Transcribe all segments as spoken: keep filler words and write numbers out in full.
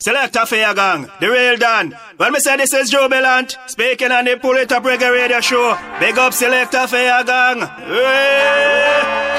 Selector for your gang, the real Dan. When me say this is Jubilant, speaking on the Pull It Up Reggae Radio Show. Big up Selector for your gang. Hey!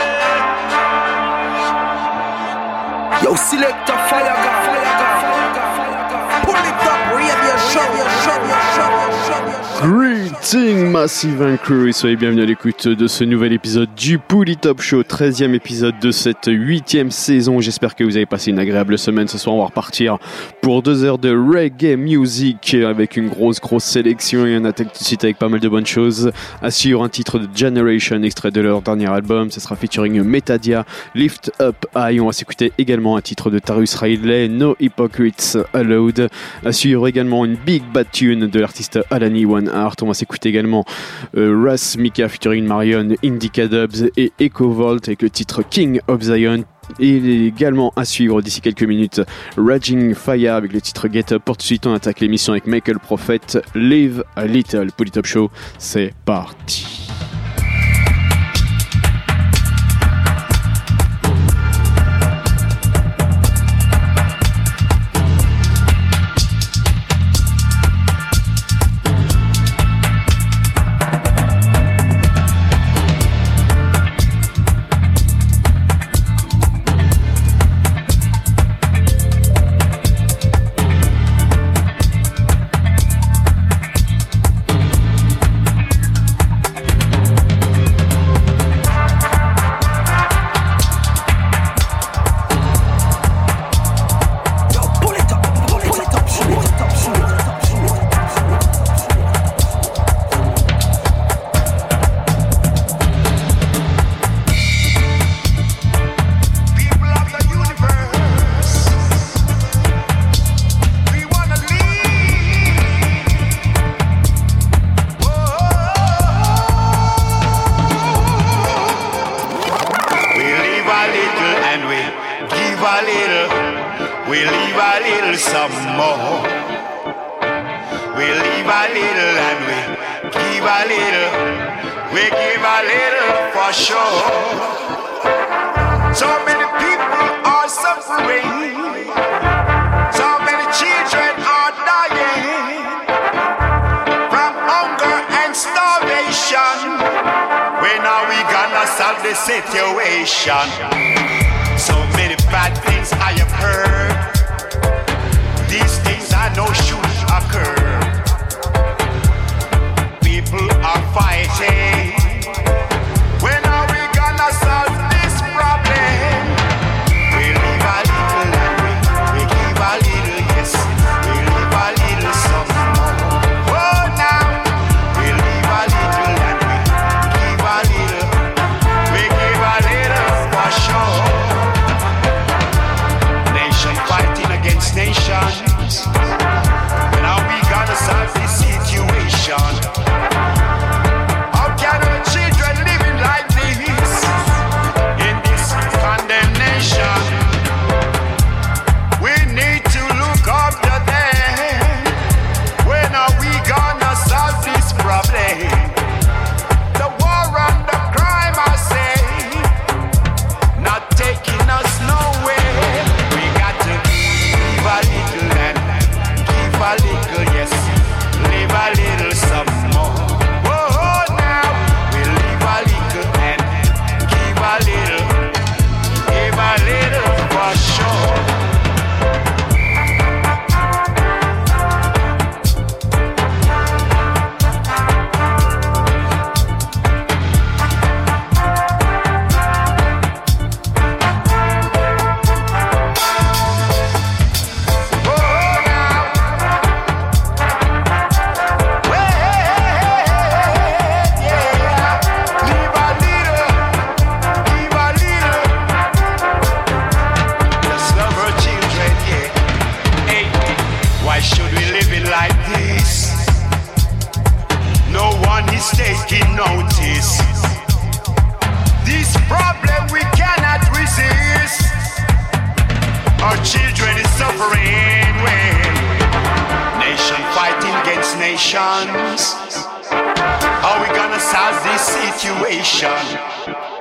Yo, Selector for your gang, for your gang, for your gang, for your gang. Pull It Up Radio Show, show, show, show, show. Greeting Massive and Crew et soyez bienvenus à l'écoute de ce nouvel épisode du Pull It Up Show, treizième épisode de cette huitième saison. J'espère que vous avez passé une agréable semaine. Ce soir on va repartir pour deux heures de reggae music avec une grosse grosse sélection et on attaque tout de suite avec pas mal de bonnes choses. À suivre un titre de Generation, extrait de leur dernier album, ça sera featuring Metadia, Lift Up High. On va s'écouter également un titre de Tarrus Riley, No Hypocrites Allowed. À suivre également une big bad tune de l'artiste Alani One Art. On va s'écouter également euh, Russ Mika featuring Marion, Indica Dubs et Echo Volt avec le titre King of Zion. Et il est également à suivre d'ici quelques minutes Raging Fire avec le titre Get Up. Pour tout de suite on attaque l'émission avec Michael Prophet, Live a Little. Pull It Up Show, c'est parti.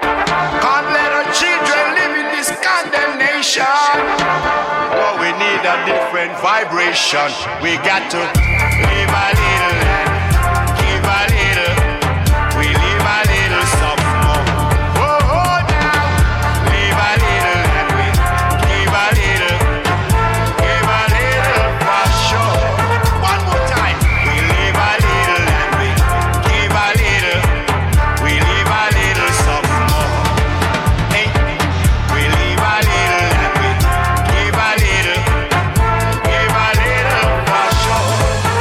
Can't let our children live in this condemnation. What we need a a different vibration. We got to live a little and give a little. We live a little something more. Oh, oh, now. Live a little and we give a little. Give a little for sure. One more time. We live a little and we give a little. We live a little something more. Hey, we live a little and we give a little. Give a little for sure.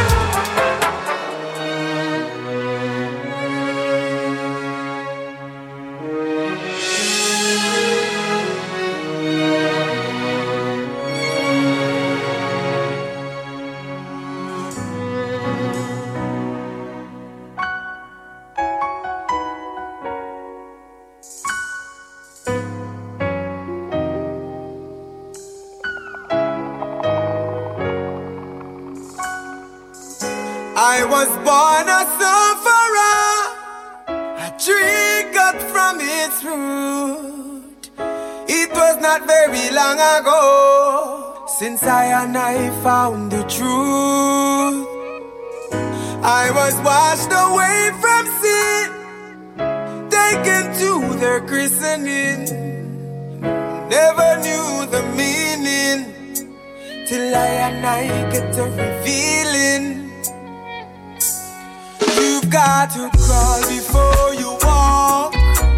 I was born a sufferer, a tree cut from its root. It was not very long ago since I and I found the truth. I was washed away from sin, taken to their christening. Never knew the meaning till I and I get a revealing. You've got to crawl before you walk,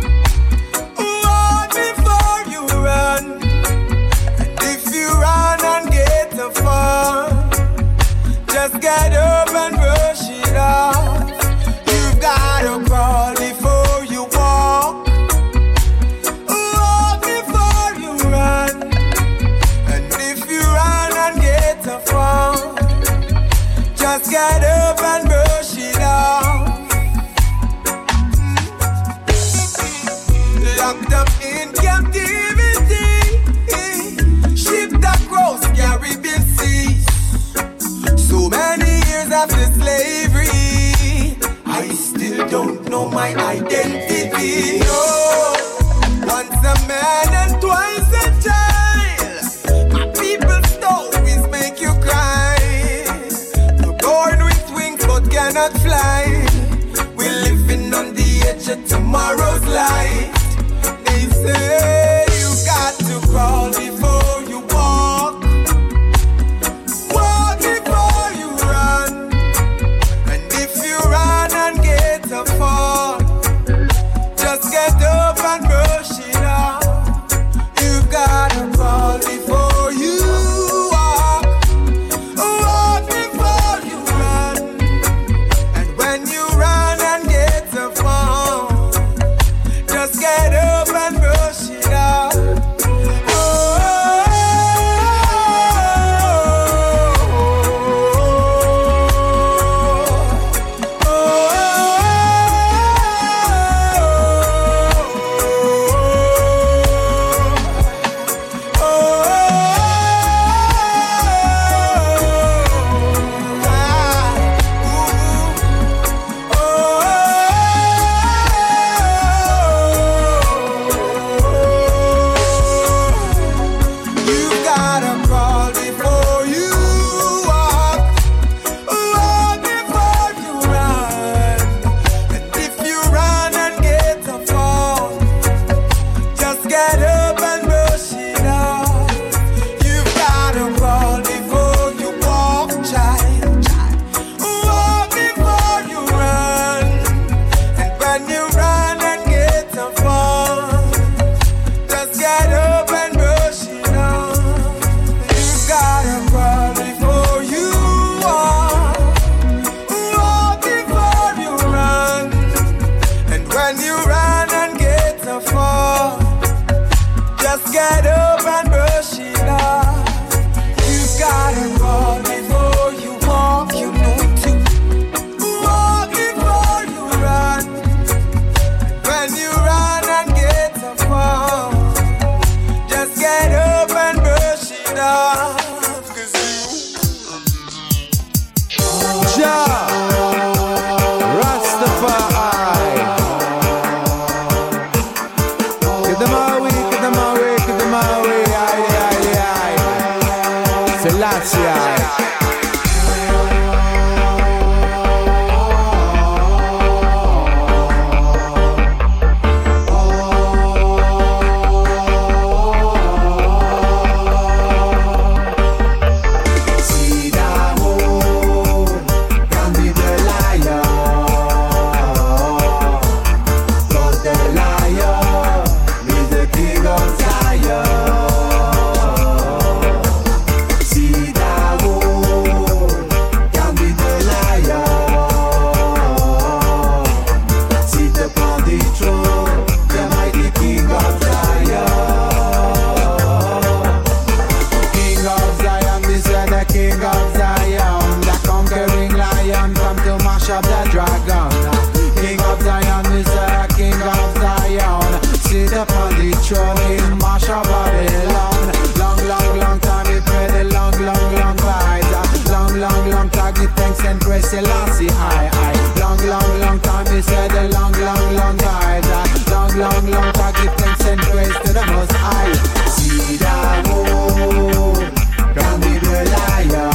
walk before you run. And if you run and get the fun, just get up and brush it off. You've got to crawl before you walk, walk before you run. And if you run and get the fun, just get up and brush it off. Locked up in captivity, shipped across Caribbean seas. So many years after slavery, I still don't know my identity. No, once a man and twice a child. My people's stories make you cry. We're born with wings but cannot fly. We're living on the edge of tomorrow's light. They say you got to crawl before you walk, walk before you run. And if you run and get a fall, just get up and brush it off. You gotta crawl before you walk, walk before you run. And when you run and get a fall, just get Selassie. Selassie, I, I. Long, long, long time he said a long, long, long time. Long, long, long time give thanks and praise to the Most High. See that road, can be the liar.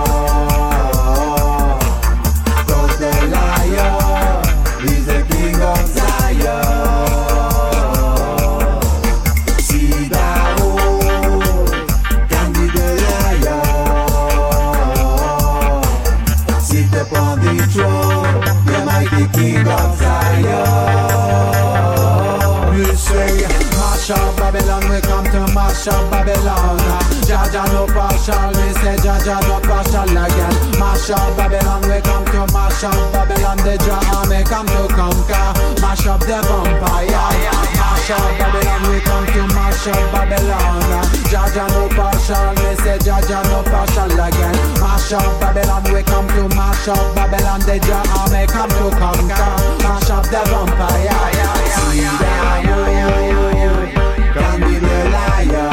Cause the liar is the king of Zion. See that road, can be the liar. Sit upon the throne, the mighty king of Zion. You say, mash up Babylon, we come to mash up Babylon. Jaja no partial, we say Jaja no partial again. Mash up Babylon, we come to mash up Babylon. The Jah army come to conquer, mash up the vampire. Mash up Babylon, we come to mash up Babylon. Jaja no partial, we say Jaja no partial again. Mash up Babylon, we come to mash up Babylon. The Jah army come to conquer, mash up the vampire. See that you can be the liar.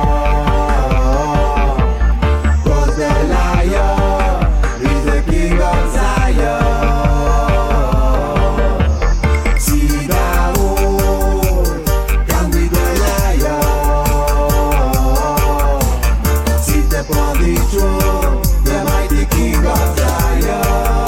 Cause the liar is the king of Zion. See that you can be the liar. Sit upon the throne, the mighty king of Zion.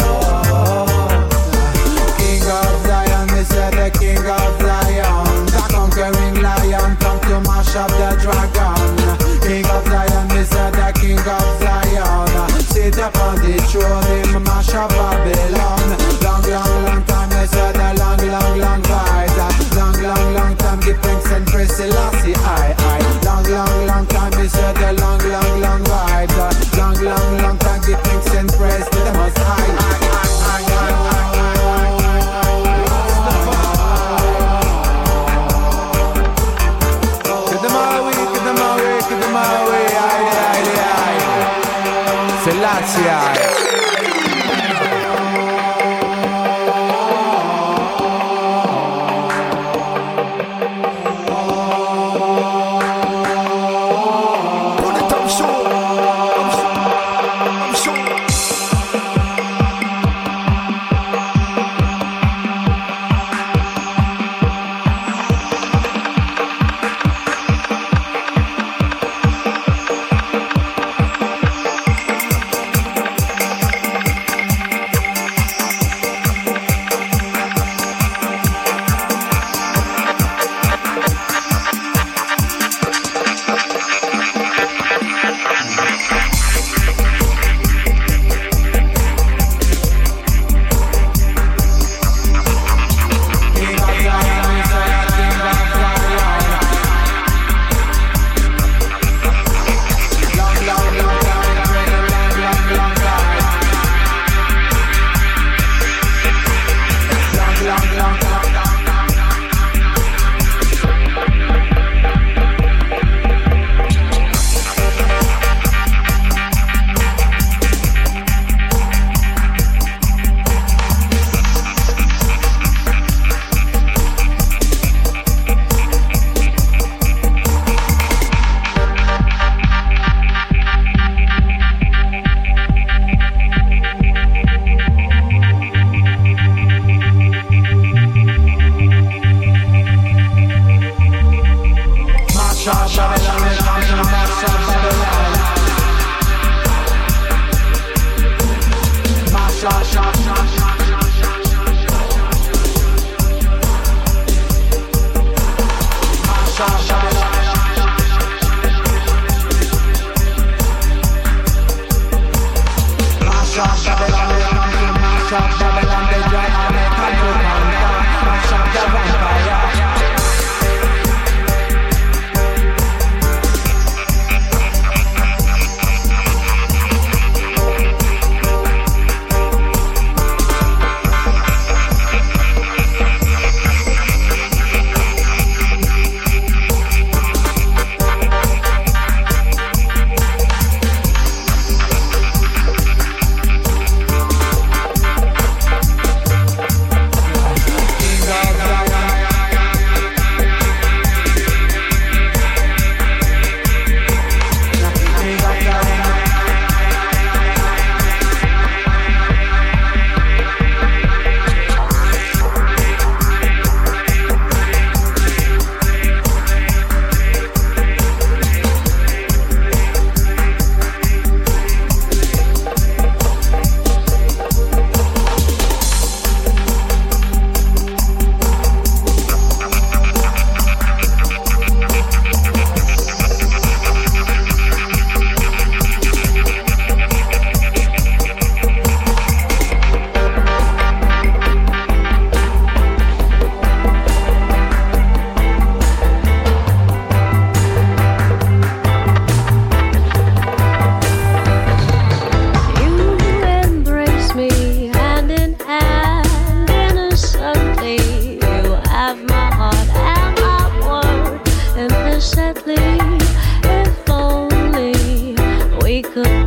King of Zion, they said the king of Zion. The conquering lion come to mash up the dragon. King of Zion, they said the king of Zion. Sit upon the throne, him mash up Babylon. Long, long, long time, they said the long, long, long fight. Long, long, long time, give thanks and praise Selassie, I, I. Long, long, long time, they said the long, long, long fight. Long, long, long time, give thanks and praise to the Most High. Selassie.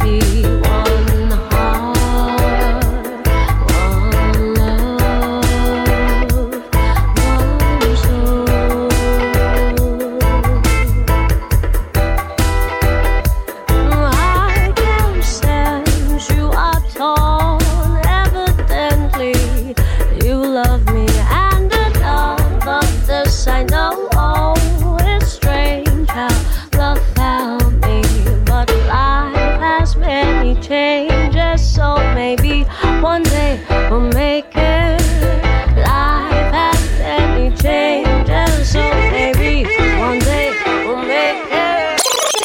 be one heart, one love, one soul. I can sense you are torn. Evidently, you love me and enough of this I know. Oh, it's strange how love found me, but life has many changes, so maybe one day we'll make it. Life has many changes, so maybe one day we'll make it.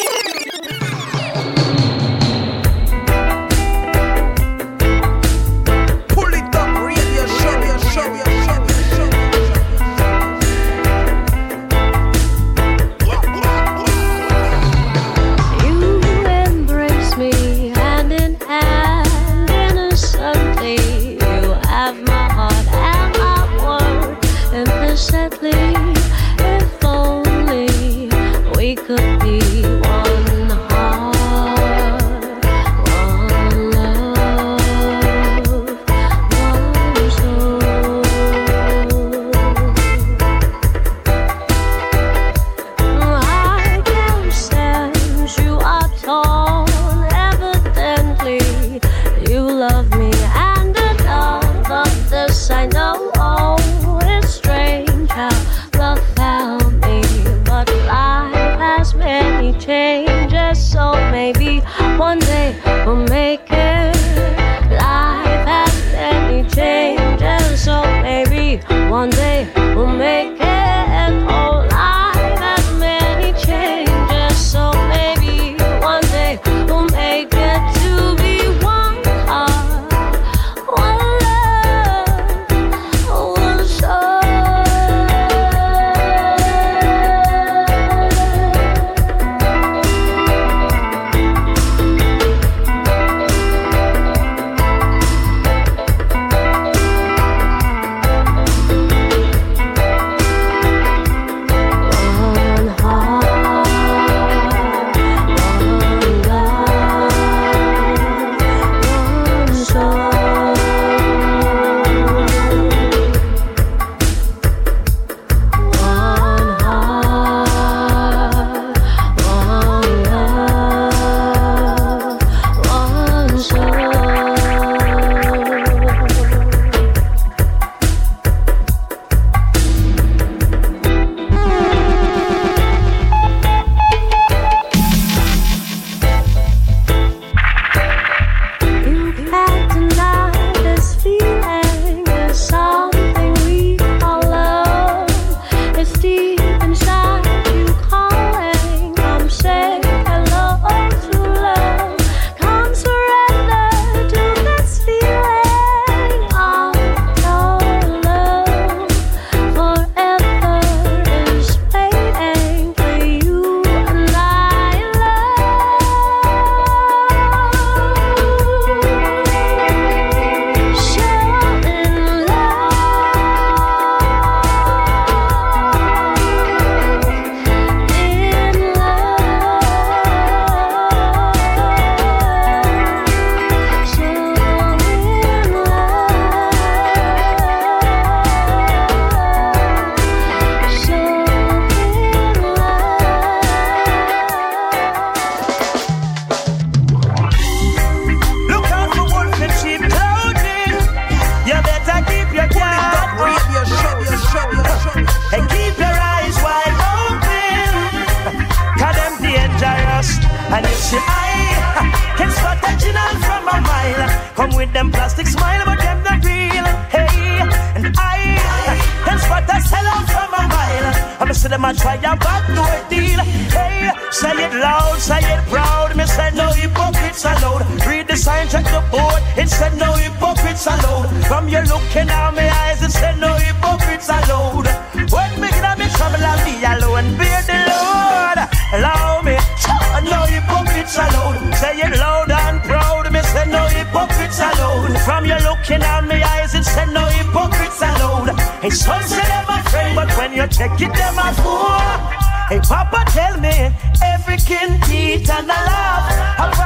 Pull it up, radio show, radio show, radio show, radio show. You embrace me hand in hand, innocently. You have my heart and my word implicitly. If only we could be one heart, one love, one soul. I can sense you are torn. Evidently, you love me and enough of this I know. Oh, it's strange how love found me, but life has many changes, so maybe one day we'll make it. Life has many changes, so maybe one day we'll make it. Oh, life has many changes, so maybe one day we'll make it to be one heart, one love, one soul. One heart, one love, one soul. One heart, one love, one soul. You can't deny this feeling is something we call love. It's deep inside you calling. Come say hello to love. Come surrender to this feeling of your love. Forever is waiting for you and I love. Show in Look out for wolf in sheep clothing. You better keep your guard up Radio show, radio show, radio show. and keep your eyes wide open. Cause them dangerous. And if she eye can spot the original from a mile. Come with them plastic smile, but them not real. Hey, and I can spot the sellout from a mile. I'm see them a try a bad door deal. Hey, say it loud, say it proud. Me say no hypocrites allowed. Read the sign, check the board. It said no hypocrites allowed. From you looking at my eyes, it said no hypocrites allowed. When me get me trouble, I'll be alone. Bear the Lord, allow me. No hypocrites allowed. Say it loud and proud. Me say no hypocrites allowed. From you looking at my eyes, it said no hypocrites allowed. Hey, some say them a friend, but when you check it, them a fool. Hey, Papa, tell me, every kin teeth and a laugh. I ride me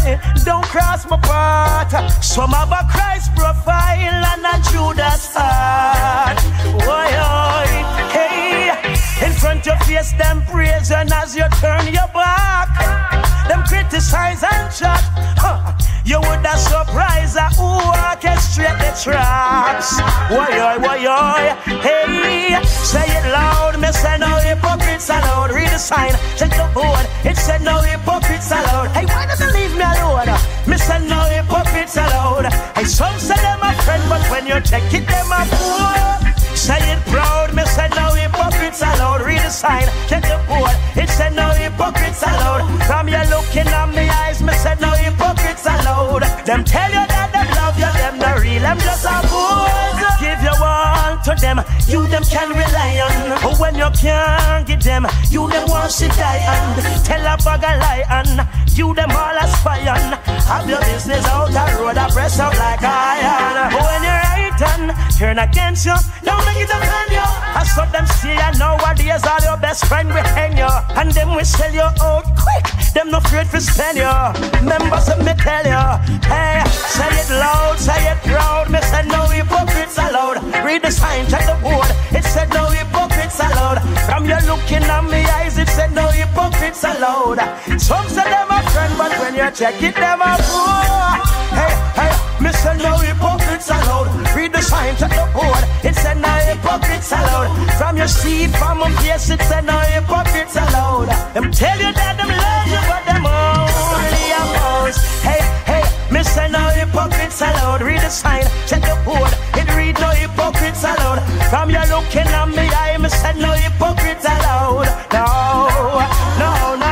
boy, don't cross my path. Some have a Christ profile and a Judas heart. Boy, oh, hey, in front of face them praise, and as you turn your back, them criticize and chat. Huh. You would have surprised uh, who orchestrate the traps. Why, why, why, why, hey, say it loud, me say no hypocrites allowed. Read the sign, check the board, it said no hypocrites allowed. Hey, why doesn't leave me alone? Me say no hypocrites allowed. Hey, some say them a friend, but when you check it, them a fool. Say it proud, me say no hypocrites allowed. Read the sign, check the board, it said no hypocrites allowed. From you looking at me eyes, me say no hypocrites allowed. Them tell you that them love you, them not real, them just a fools. Give your all to them, you them can rely on. But when you can't get them, you them want to die and tell a bag a lie and you them all aspire. Have your business out the road, I press out like iron. But when you're right and turn against you, don't make it offend you. I saw them see you nowadays, all your best friend will hang you, and them will sell you out quick. Them no afraid to spend you. Members of me tell you, hey, say it loud, say it proud. Me said no hypocrites allowed. Read the sign, check the board. It said no hypocrites allowed. From you looking at me eyes, it said no hypocrites allowed. Some say them a friend, but when you check it, them a fool. Hey, hey, me said no hypocrites allowed. Read the sign, check the board. It said no hypocrites allowed. From your seat, from my face, it said no hypocrites allowed. Them tell you that them love you, but them only oppose. Hey, hey, me say no hypocrites allowed. Read the sign, check the board. It read no hypocrites allowed. From you looking at me eye, me say no hypocrites allowed. No, no, no.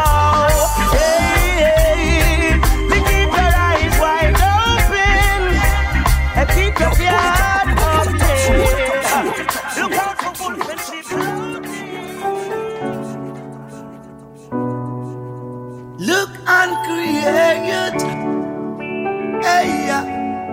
Hey, hey, me keep your eyes wide open and keep your heart open. Look out for full friendship. Look and create. Hey, yeah.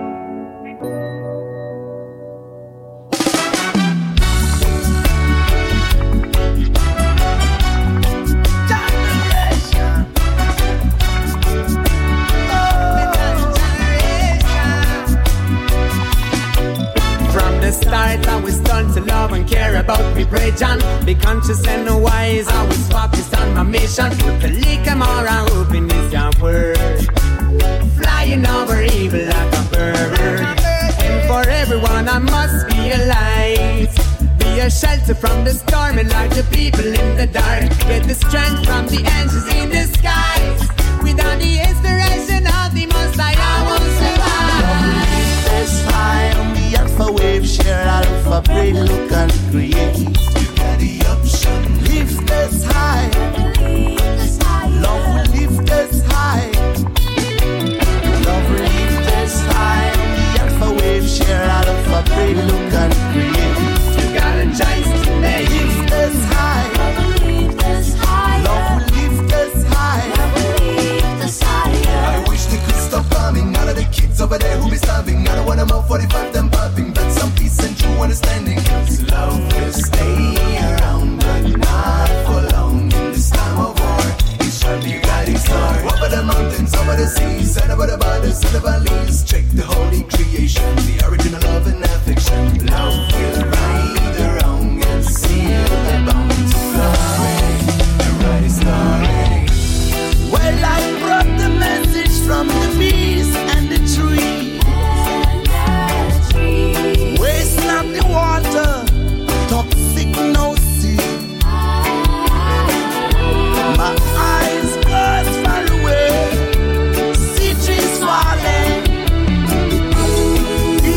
Start, I was done to love and care about me region. Be conscious and wise, I was focused on my mission. To lick em or I open is your word. Flying over evil like a bird. And for everyone I must be a light. Be a shelter from the storm and light the people in the dark. Get the strength from the angels in the skies. Without the inspiration of the Most High, I won't survive. This high on the alpha wave, share alpha brain, look and create. You got the option. Lift this high. Love will lift this high. Love will lift this high on the alpha wave, share alpha brain, look and create. You got a choice to make. Lift this high. Love will lift this high. I wish they could stop bombing. None of the kids over there who be starving. I don't want them out forty-five, them popping. But some peace and true understanding. Cause love will stay around, but not for long. In this time of war, it shall be a guiding star. Over the mountains, over the seas, and over the borders and the valleys. Check the holy creation, the original love and affection. Love will right the wrong and seal the bound to glory. The right is story. Well, I brought the message from the bees and the tree. Waste not the water, toxic no sea. My eyes birds far away, see trees falling.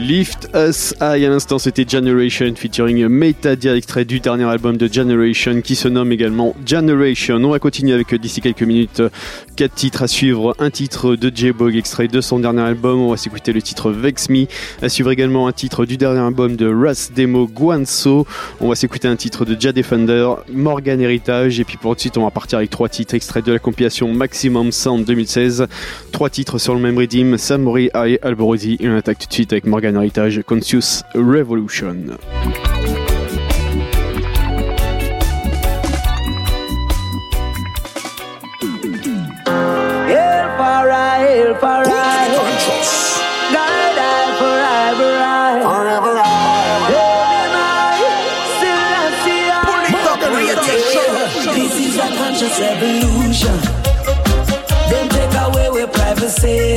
Lift Us High. À l'instant, c'était Generation featuring Metadia, extrait du dernier album de Generation qui se nomme également Generation. On va continuer avec d'ici quelques minutes quatre titres à suivre. Un titre de J-Bog, extrait de son dernier album. On va s'écouter le titre Vex Me. À suivre également un titre du dernier album de Ras Demo, Guanso. On va s'écouter un titre de Ja Defender, Morgan Heritage. Et puis pour tout de suite, on va partir avec trois titres extraits de la compilation Maximum Sound deux mille seize. Trois titres sur le même rythme, Samurai Eye, Alborosi. Et on attaque tout de suite avec Morgan Heritage, Conscious Revolution. Hail for I, die, die forever I, forever I, this is a conscious revolution. Then take away with privacy.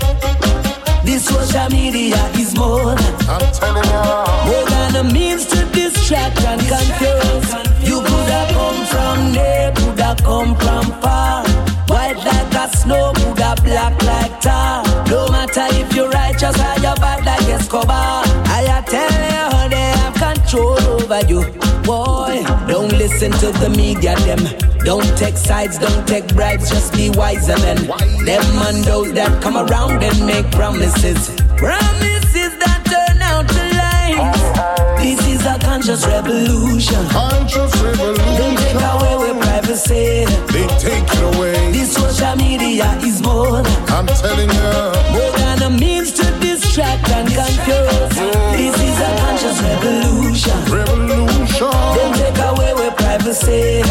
This social media is more, I'm telling you, more than a means to distract and confuse. You could have come from near, could have come from far. White like a snow, could have black like tar. No matter if you're righteous or you're bad like Escobar. I tell you how they have control over you. Boy, don't listen to the media, them. Don't take sides, don't take bribes, just be wiser men. Them and those that come around and make promises. Promises that turn out to lies. This is a conscious revolution. Conscious revolution. They take away with privacy. They take it away. This social media is more, I'm telling you, more than a means to distract and confuse. This is a conscious revolution. Revolution. They take away with privacy.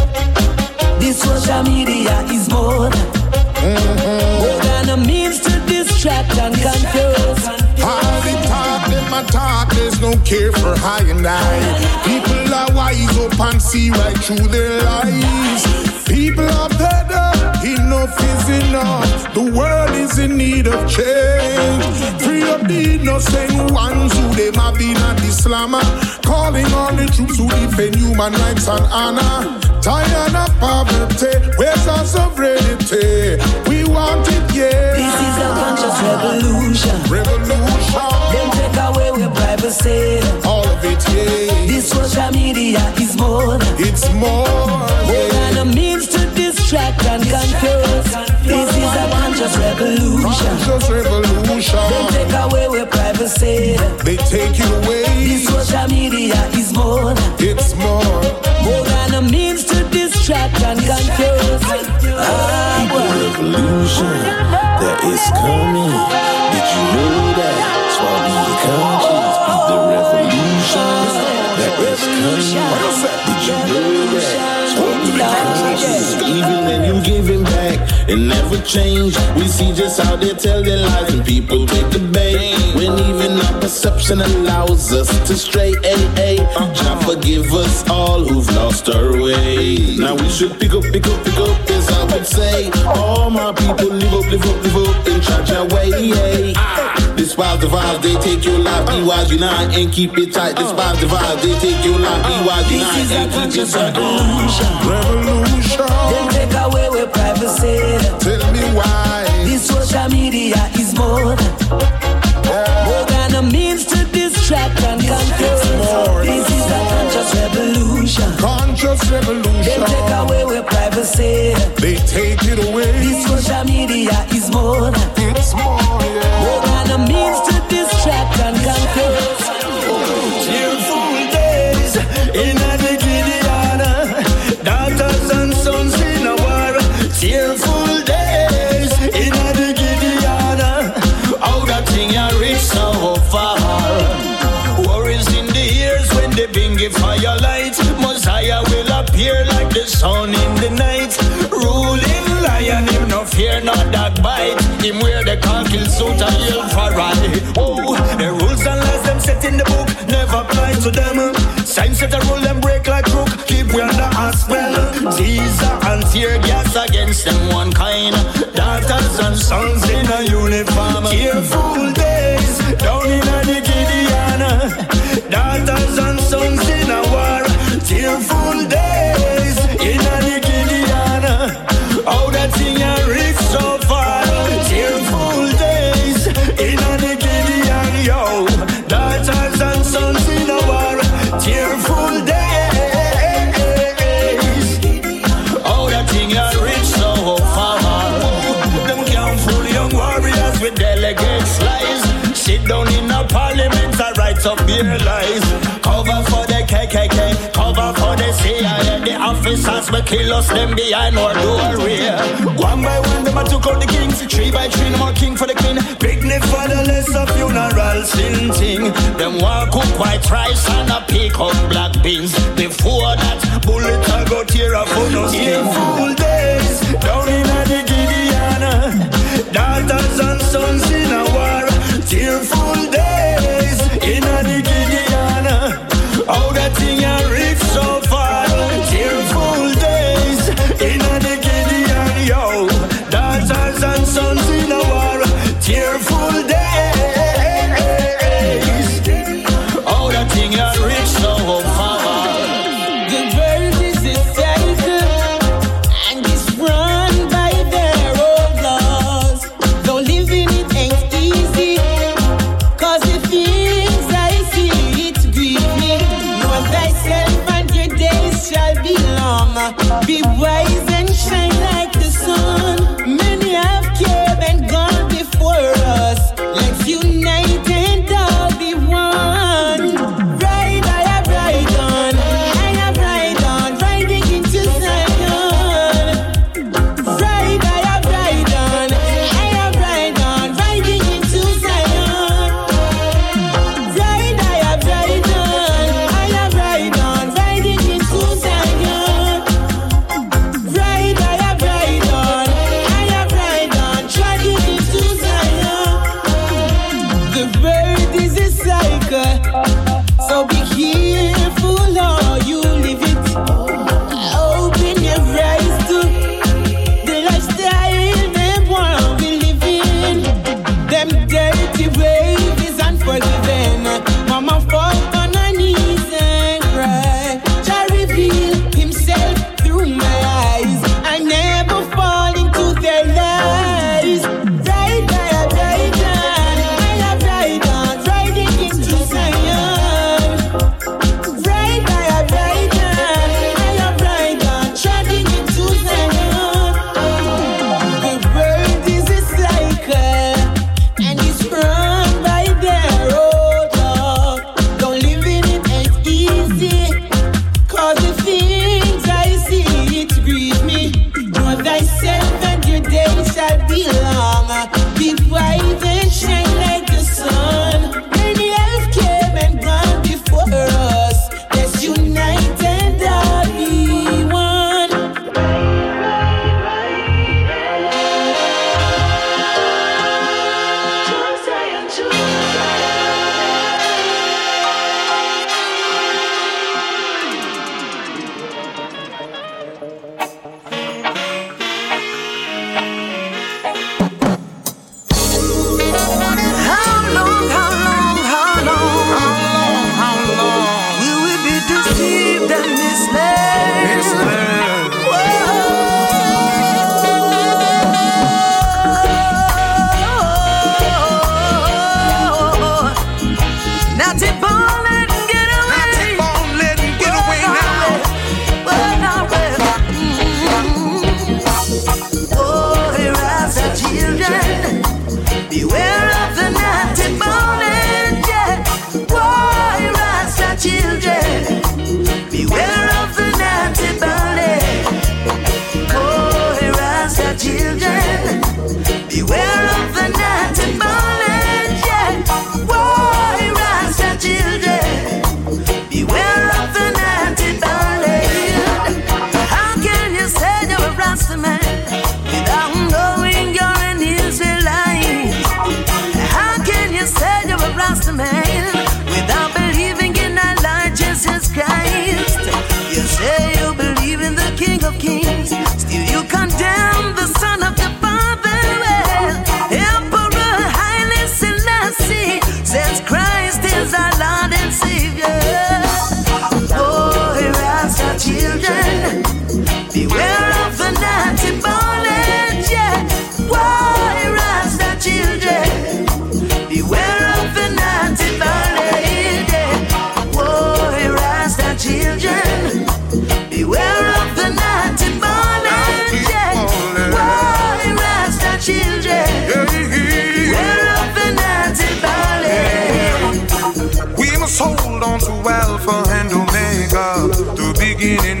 This social media is more, mm-hmm. more than a means to distract and confuse. All the talk, them a talk, there's no care for high and high. People are wise up and see right through their lies. People are better, enough is enough. The world is in need of change. Free up the innocent ones who they have been at Islam. Calling on the troops who defend human rights and honor. Tired of poverty, where's our sovereignty? We want it, yeah. This is a conscious revolution. Revolution. Them take away with privacy. All of it, yeah. This social media is more. It's more, yeah. More than a means to distract and confuse. This is a conscious revolution. Conscious revolution. Them take away with privacy. They take it away. This social media is more. It's more. More than a means to distract and confuse. Ah, the revolution that is coming. Did you know that? Swallow your conscience. Be the revolution that is coming. Did you know that? Swallow your conscience. Even when you giving back, it never change. We see just how they tell their lies and people take the bait. When even our perception allows us to stray. Ay, ay. Jah forgive us all who've lost our way. Now we should pick up, pick up, pick up, as I would say. All my people live up, live up, live up in church way. Despise the vibes, they take your life. Be wise, unite and keep it tight. Despise the vibes, they take your life. Be wise, unite and keep it tight. Revolution. Then take away with privacy. Tell me why. This social media is more, yeah. More than a means to distract and confuse. This is a conscious revolution. Conscious revolution. They take away with privacy. They take it away. This social media is more. It's more, yeah. More than a means to distract and confuse. Cheerful days in the Gideon, daughters and sons in a war. Cheerful days in the Gideon, how that thing I reach so far. Worries in the ears when they bring a fire light. Messiah will appear like the sun in the night. Ruling lion, him no fear, not that bite. Him wear the khaki suit and yell for ride. Oh, the rules and laws them set in the book never apply to them. Signs set a rule them break like crook. Keep we under a spell. Caesar and tear gas against them one kind. Daughters and sons in a uniform. Tearful days down in the Gideon. Daughters and sons in a war. Tearful days in the Gideon. How that thing I reached so far. Tearful days in the Gideon, yo. lights up bare lies. Cover for the K K K, cover for the C I A. The officers will kill us, them behind our doorway. One by one, them a took out the kings. Three by three, no more king for the queen. Picnic for the lesser funeral sin ting. Them walk cook white rice and a pick up black beans. Before that, bullet a go tear up on us. Tearful days down in the Gideon. Daughters and sons in a war. Tearful days in the Gideon. How that thing a reach so far. Tearful days in the Gideon. Yo, daughters and sons in a war. Tearful days. How that thing a reach so far. Be wise and shine like the sun. Many have came and gone before us. Let's unite and all be one. Ride, I have ride on. I have ride on. Riding into Zion. Ride, I have ride on. I have ride on. Riding into Zion. Ride, I have ride on. I have ride on. Riding into Zion. Ride, I have ride on, I have ride on, trotting into Zion. The world is a cycle, so be careful how you live it. Open your eyes to the lifestyle them want we live in. Them dirty ways is unforgiven. Mama fall on her knees and cry. Jah reveal himself through my eyes. I never fall into their lies. Ride, I have ride on. I have ride on. Riding into Zion. Ride, I have ride on. I have ride on. Treading into Zion. The world is a cycle, and it's run by their old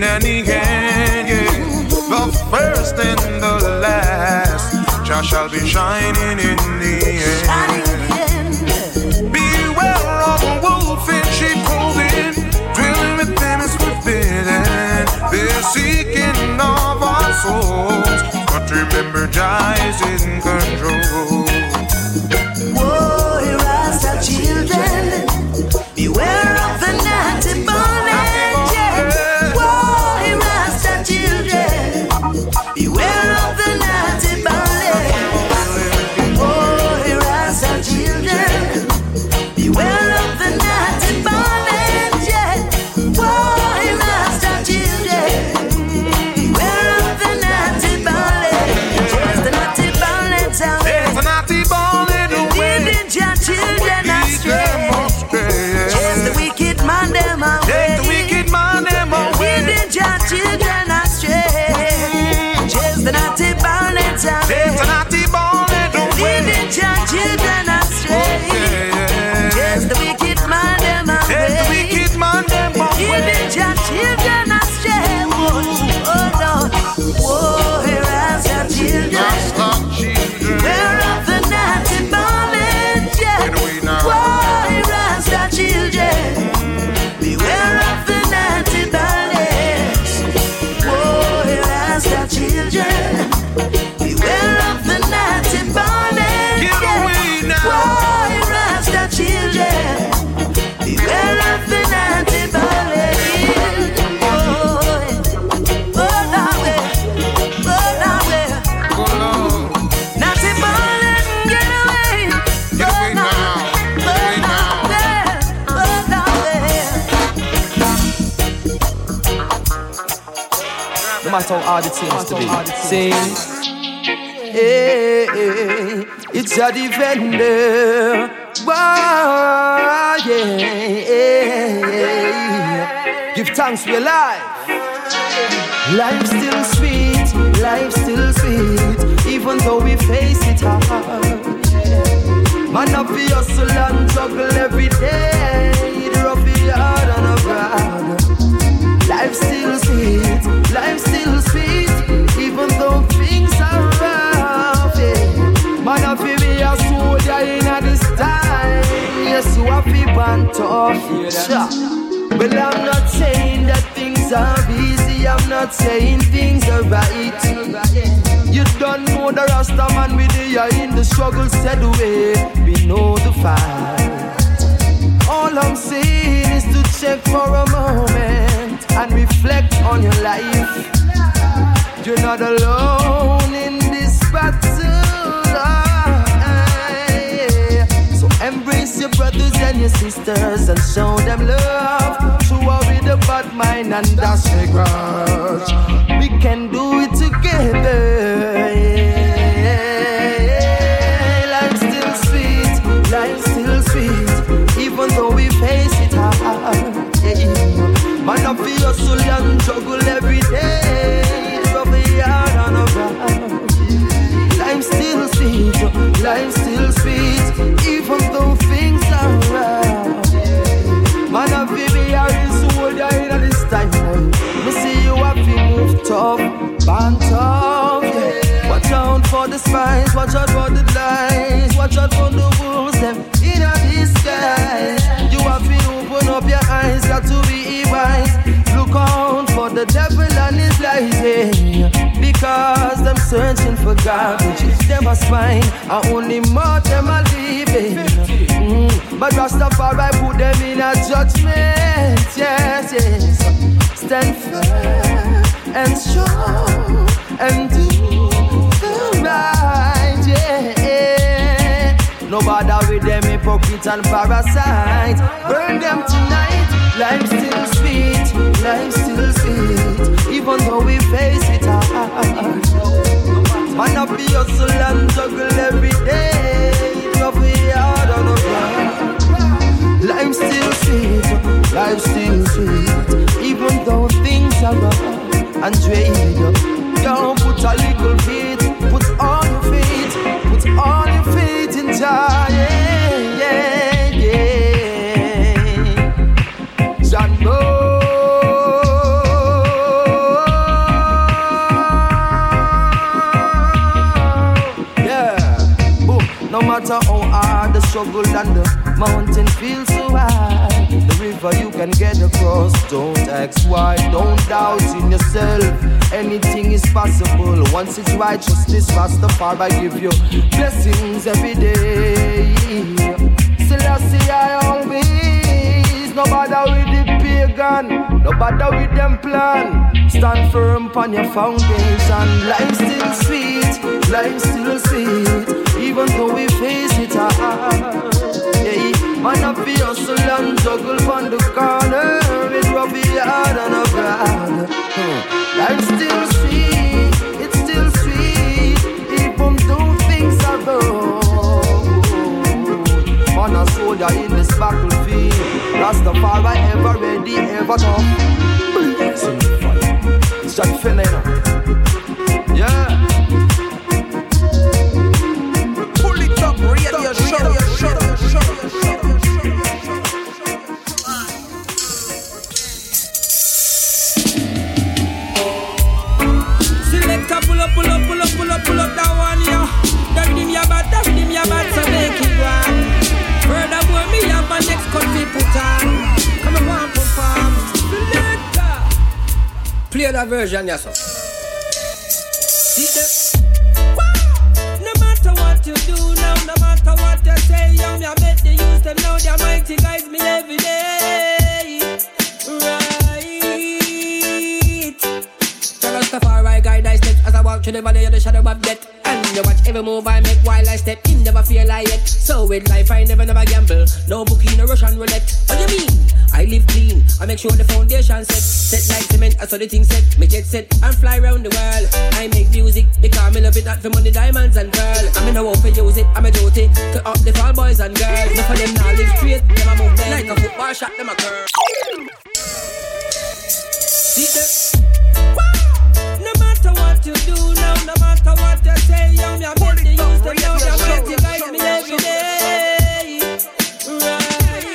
and the end, yeah. The first and the last, Jah shall be shining in the end. Beware of a wolf in sheep clothing, dwelling with them is forbidden. They're seeking of our souls, but remember Jah is in control. Whoa, Rasta children, beware of the naughty bondage. Whoa, Rasta children, beware of the naughty bondage. Whoa, Rasta children, beware of the naughty bondage. Whoa, Rasta children, beware of the naughty bondage. Just the naughty bondage out there. There's a naughty bondage away. Leading your children astray. Chase the wicked man them away. Chase the wicked man them away. Leading your children astray. Chase the naughty bondage away. There's a naughty bondage away. Leading your children astray. Chase the wicked man them away. Chase the wicked man them away. Leading your children astray. Oh Lord, whoa, here are your children. Beware of the naughty bondage. Whoa, here are your children. Beware of the naughty bondage. Whoa, here are your children. Beware of the naughty bondage. Whoa, here are your children. Beware of the naughty bondage. Oh, oh, now where, oh, now where. Naughty bondage, get away. Get away now. Get away now. There, oh, now there. No matter how hard it seems to be. Sing. Hey, hey, it's a defender. Wow, yeah, yeah. Give thanks for your life. Life's still sweet, life's still sweet, even though we face it hard. Man up for hustle and juggle every day, rough it hard and a proud. Life's still sweet, life's still sweet, even though things are rough. Yeah. Man up for be a soldier in a this time, yes, you have to band tough. Yeah. Well, I'm not saying that things are easy, I'm not saying things are right. You don't know the Rasta man with the eye in the struggle said away. We know the fight. All I'm saying is to check for a moment and reflect on your life. You're not alone in this battle. So embrace your brothers and your sisters and show them love. To with a bad mind and that's a grudge. We can do it together. Yeah. Life's still sweet, life's still sweet, even though we face it hard. Yeah. Man up for hustle and juggle every day, rough it hard and around. Life's still sweet, life's still sweet, even though things are rough. Man up for be a real soldier in this time. Me see you have to move tough, band tough, yeah. Watch out for the spies, watch out for the lies, watch out for the wolves, them in a disguise. You have to open up your eyes, got to be wise. Look out for the devil and his lies, yeah. Because them searching for garbage, them a swine, and only more them a leaving. Mm. But Rastafari put them in a judgment, yes, yes. Stand firm and strong and do the right, yeah. No bother with them hypocrite and parasite. Burn them tonight. Life's still sweet, life's still sweet, even though we face it hard. Man up the hustle and juggle every day, rough it hard on the ground. Life's still sweet, life's still sweet, even though things are rough and drained. Don't put a little faith, put all your faith, put all your faith in Jah, yeah, yeah, yeah. Jah knows. matter how hard the struggle and the mountain feels so high, the river you can get across. Don't ask why, don't doubt in yourself. Anything is possible once it's righteousness. Rastafari give you blessings every day. Selassie I always, no bother with the pagan, no bother with them plan. Stand firm upon your foundation. Life still sweet, life still sweet, even though we face it hard. Yeah, man up the hustle and juggle on the corner with Robbie hard and a brand. Hmm. Life still sweet, it's still sweet, even though things are rough. Man a soldier in this battlefield, Rastafari ever ready, ever tough. It's Jack Finlay now. Yeah. Pull it up, radio show, show, show, show. Selector, pull up, pull up, pull up, pull up, pull up that one, yeah. That rhythm ya bad, that rhythm ya bad, so make it run. Furthermore, me have my next cut we put on. Come and one perform. Selector, play that version, yes sir. See that? Wow. No matter what you do now, no matter what you say, young me I bet they use them now. They're mighty guys me every day. Right. Rastafari guide I step as I walk through the valley of the shadow of death. And you watch every move I make while I step in, never feel like it. So with life I never never gamble, no bookie, no Russian roulette. What do you mean? I live clean, I make sure the foundation set. Set like cement, I saw the thing set. Make it set and fly around the world. I make music because me love it, not for money, diamonds and pearl. I'm in a war for use it, I'm a duty to up the fall boys and girls. Enough of them now live straight, them a move like a football shot, them a curl. See that? No matter what you do now, no matter what you say, young me I bet they use them now. They're mighty guys me every day. Right.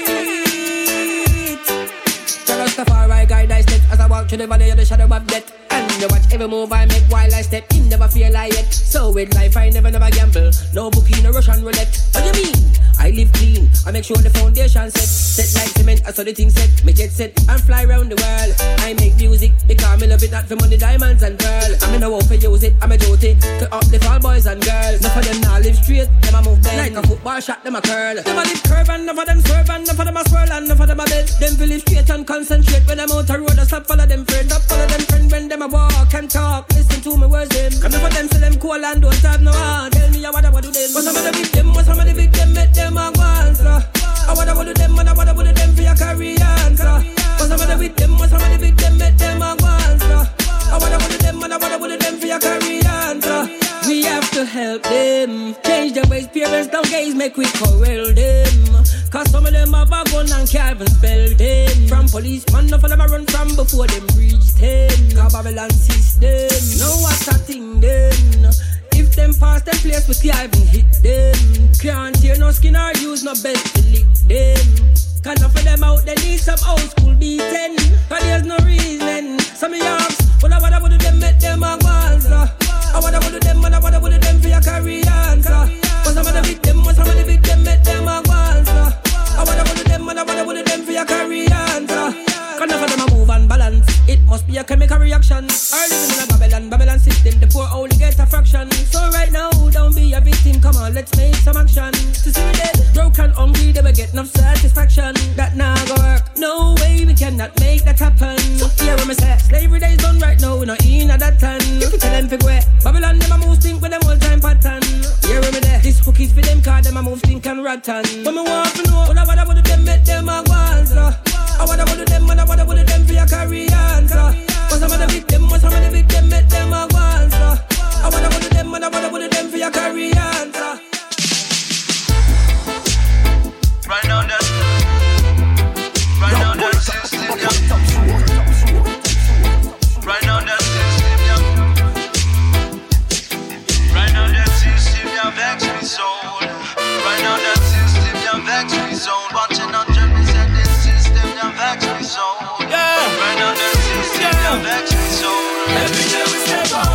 Rastafari guide I step as I walk through the valley of the shadow of death. And you watch every move I make while I step in, never feel like it. So with life I never never gamble, no bookie, no Russian roulette. What do you mean? I live clean, I make sure the foundation set. Set like cement, I saw the thing set. Make it set and fly around the world. I make music because me love it, not for money, diamonds and pearl. I'm in a war for use it, I'm a duty to up the fall boys and girls. Enough of them now live straight, them a move like a football shot, them a curl. Them a live curve and enough of them swerve and enough of them a swirl and enough of them a bend. Them feel live straight and concentrate when I'm out the road. I stop follow them friends, stop follow them friends when them a walk and talk. Listen to me words them. Come enough of them say them cool and don't have no heart. Tell me what I want to do them. What's some of the big them, what's some of the big them, make them a go answer. I wanna do them and I wanna do them for your career answer. What's some of the big them, what's some of the big them, make them a go answer. I wanna do them and I wanna do them for your career answer. We have to help them change their ways, parents don't gaze, make we corral them. Cause some of them have a gun and can't even spell them. From policeman, enough of them a run from before them reach ten. Cause Babylon system, know what's a thing then. If them pass them place, we can't even hit them. Can't tear no skin or use no belt to lick them. Cause enough of them out, they need some old school beating. Cause there's no reason. Some of y'all, well I wanna do them, make them a go answer. I wanna do them, and I wanna do them for your career answer. But some of the big them, some of the big them, make them a go answer. I wanna do them, and I wanna do them for your career answer. Cause enough of them a move and balance. It must be a chemical reaction. Or living in a Babylon, Babylon system, the poor only get a fraction. So right now, don't be a victim, come on, let's make some action. To see me dead, broken, hungry, they will get enough satisfaction. That now go work, no way we cannot make that happen. Hear what me say, slavery days done right now, we not in at that time. If you tell them fig way, Babylon them a move stink with them all time pattern. Hear what me there, this hook is for them cause them a move stink and rotten. When me want to know, what I wanna do them, make them a go answer. I wanna do them, and I wanna do them for your career answer. But some of the big them, but some of the big them, make them a go answer. I wanna do them, and I wanna do them for your career answer. Right now that, right now that system, yeah. Right now that system, yeah. Right now that system, yeah, vex me so. Right now that system, yeah, vex me so. Watching on Jeremy said this system, yeah, vex me so. Yeah. Right now that system, yeah, vex me so. Every day we step out. It's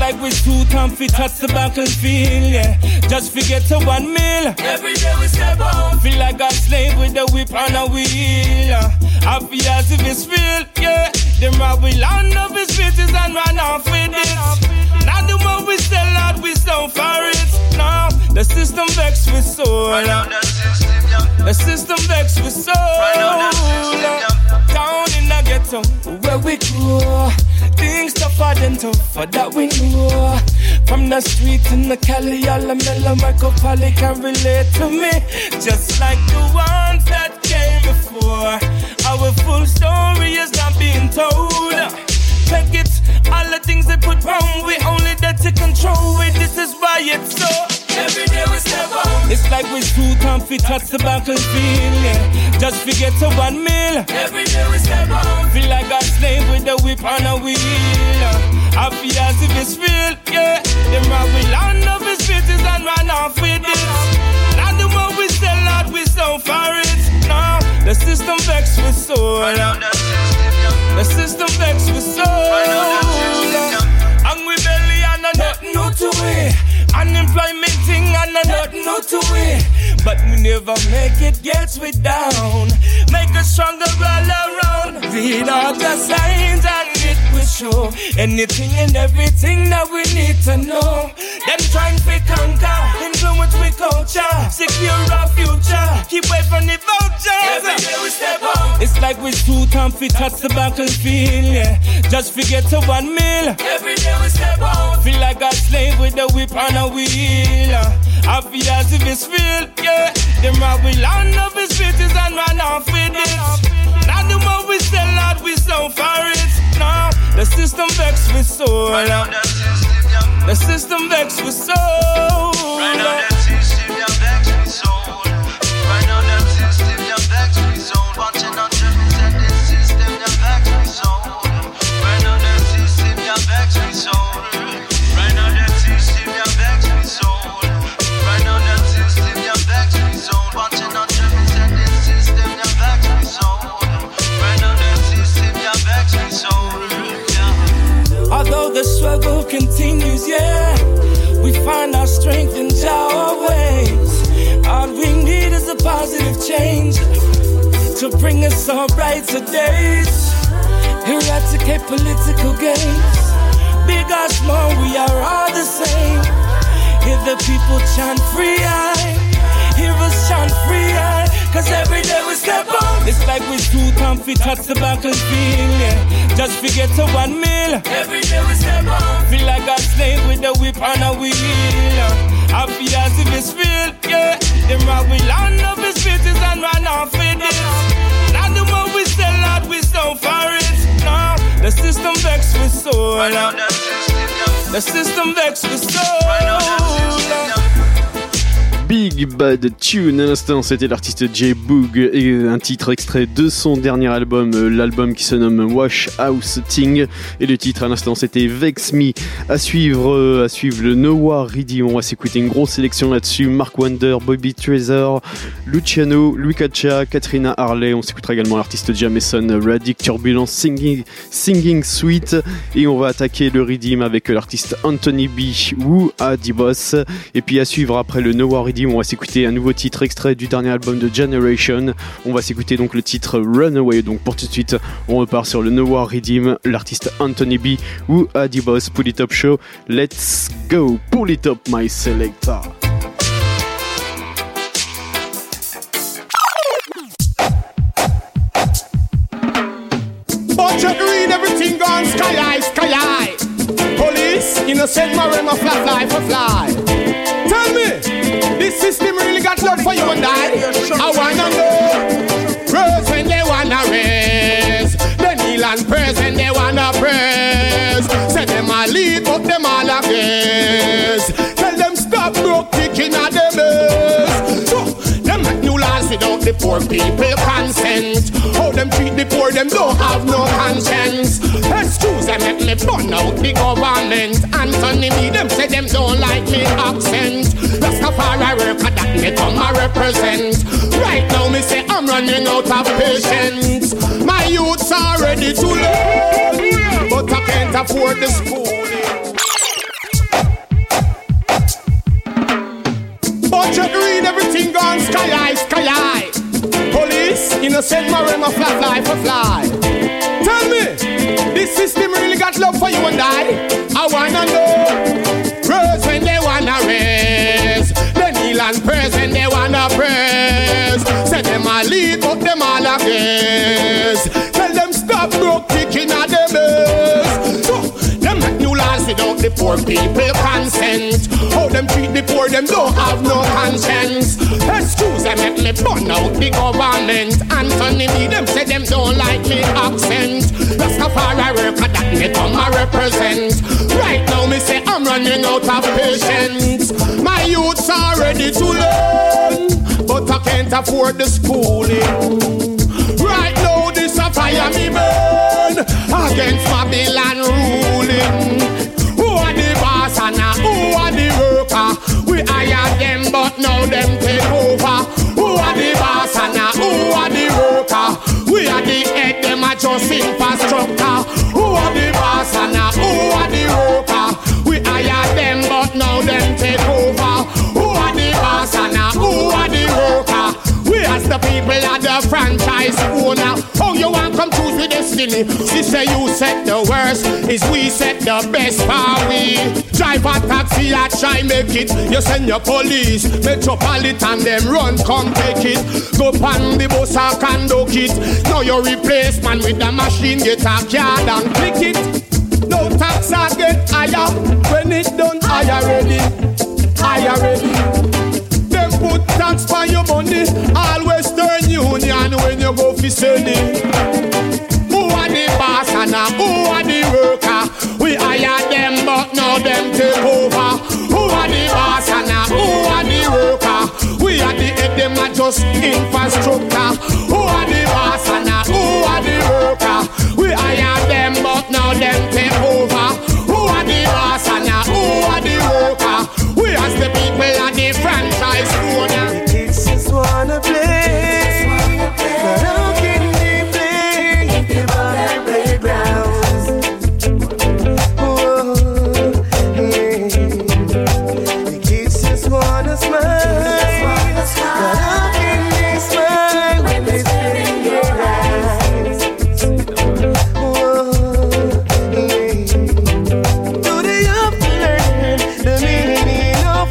like we shoot and fit touch the battlefield, yeah. Just forget to one meal. Every day we step out. Feel like a slave with a whip and a wheel. Happy as if it's real, yeah. Them rob we land up his bitches and run off with it. Now the more we sell out, we sell for it. Now the system vex with soul. Right now the system, yeah. The system vex with soul. Right now the system, yeah. Down in the ghetto, where we grow. Things tougher than tougher that we know. From the street in the Cali, all the mellow Marco Pali can relate to me. Just like the ones that came before. Our full story is not being told. Check it, all the things they put wrong, we only there to control it. This is why it's so. Every day we step out. It's like we shoot and fit touch the battlefield, yeah. Just forget to one meal. Every day we step out. Feel like a slave with a whip and a wheel. Happy as if it's real, yeah. Them rob we land up his bitches and run off with it. Now the more we sell out, we sell for it. Now the system vex with soul. Right now the system, yeah. The system vex with soul. Right now the system, yeah. Hungry belly and a nothing new to it. Unemployment thing and a nothing new to it. But we never make it, gets we down. Make us stronger all around. Read all the signs and it will show anything and everything that we need to know. Them trying to conquer, influence with culture, secure our future, keep away from the vultures. Every day we step out. It's like we shoot and fit touch the battlefield, yeah. Just forget to one meal. Every day we step out. Feel like a slave with a whip and a wheel. Happy as if it's real, yeah. Them rob we land up his bitches and run off with it. Now the more we sell out, we sell for it. Now the system vex with soul. Right now the system, yeah. The system vex with soul. Right now the system, yeah, vex with soul. Right now the system, yeah, vex with soul. Watching on Jimmy said this system, yeah, vex with soul. Right now the system, yeah, vex with soul. Right now the system, yeah, vex with soul. Right now the system, yeah, vex with soul. Watching on Jimmy said this system, yeah, vex with soul. Right now the system, yeah, vex with soul. Yeah. Although the struggle continues, yeah, we find our strength in our ways. All we need is a positive change to bring us all brighter days. Eradicate political games. Big or small, we are all the same. Hear the people chant free eye. Hear us chant free eye. Cause every day we step on. It's like we shoot and fit touch the battlefield, yeah. Just forget to one meal. Every day we step on. Feel like a slave with a whip and a wheel. Happy as if it's real, yeah. Them rob we land up his bitches and run off with it. Now the more we sell out, we sell for it. Now the system vex with soul. Right now the system, yeah. The system vex with soul. Right now the system, yeah. Big Bad Tune, à l'instant c'était l'artiste J-Boog et un titre extrait de son dernier album, l'album qui se nomme Wash House Thing, et le titre à l'instant c'était Vex Me. À suivre, à suivre le Noah Reedy, on va s'écouter une grosse sélection là-dessus, Mark Wonder, Bobby Treasure, Luciano, Louis Cacha, Katrina Harley, on s'écoutera également l'artiste Jameson, Radic, Turbulence, Singing, Singing Sweet, et on va attaquer le Redeem avec l'artiste Anthony B, Woo Adibos, et puis à suivre après le Noah Reedy, on va s'écouter un nouveau titre extrait du dernier album de Generation. On va s'écouter donc le titre Runaway. Donc pour tout de suite, on repart sur le Noah Redeem, l'artiste Anthony B ou Adibos. Pull It Up Show. Let's go. Pull it up, my selector. But you read everything gone sky high, sky high. Police, innocent Marema fly, fly, for fly. Tell me, this system really got love for you and I. I wanna know. Rose when they wanna raise. They kneel and praise when they wanna praise. Say them all lead, but them all against. Tell them stop broke kicking at them ears. So, them make new laws without the poor people consent. How them treat the poor, them don't have no conscience. Excuse them, make me burn out the government. Anthony B, them say them don't like me accent. Rastafari worker that me come a represent. Right now me say I'm running out of patience. My youths are ready to learn, but I can't afford the school. sky high. Police, innocent marine of fly, fly, for fly. Tell me, this system really got love for you and I? I wanna know. Praise when they wanna raise. They kneel and praise when they wanna praise. Say them a lead, but them all against. Tell them stop broke kicking at them base. So, them make new laws without the poor people consent. How them treat the poor, them don't have no conscience. Excuse them, make me burn out the government. Anthony me, them say them don't like me accent. Rastafari worker that me come a represent. Right now me say I'm running out of patience. My youths are ready to learn, but I can't afford the schooling. Right now this a fire me burn against Babylon ruling. Who are the boss and uh, who are the worker? We hire them but now them take over. Who are the boss and uh, who are the worker? We are the head, them are just infrastructure. Who are the boss and uh, who are the worker? We hire them but now them take over. Who are the boss and uh, who are the worker? We as the people are the franchise owner. Oh, you want come choose with destiny? Sister, you set the worst, is we set the best for we. Drive a taxi, I try make it. You send your police, metropolitan, them run, come take it. Go pan the bus, I can dock it. Now your replacement with the machine, get a card and click it. No tax, I get higher. When it done, I already, I already. Put tax for your money, all Western Union when you go for selling. Who are the boss and uh, who are the worker? We hire them but now them take over. Who are the boss and uh, who are the worker? We are the head, them are just infrastructure. Who are the boss and uh, who are the worker? We hire them but now them take over. Who are the boss and uh, who are the worker? We as the people are the franchise owner. The kids just wanna play, but how can they play if they're on their playgrounds? Oh, yeah. The kids just wanna smile, but how can they smile when they spit in your eyes? Oh, yeah. Do they have to learn the meaning of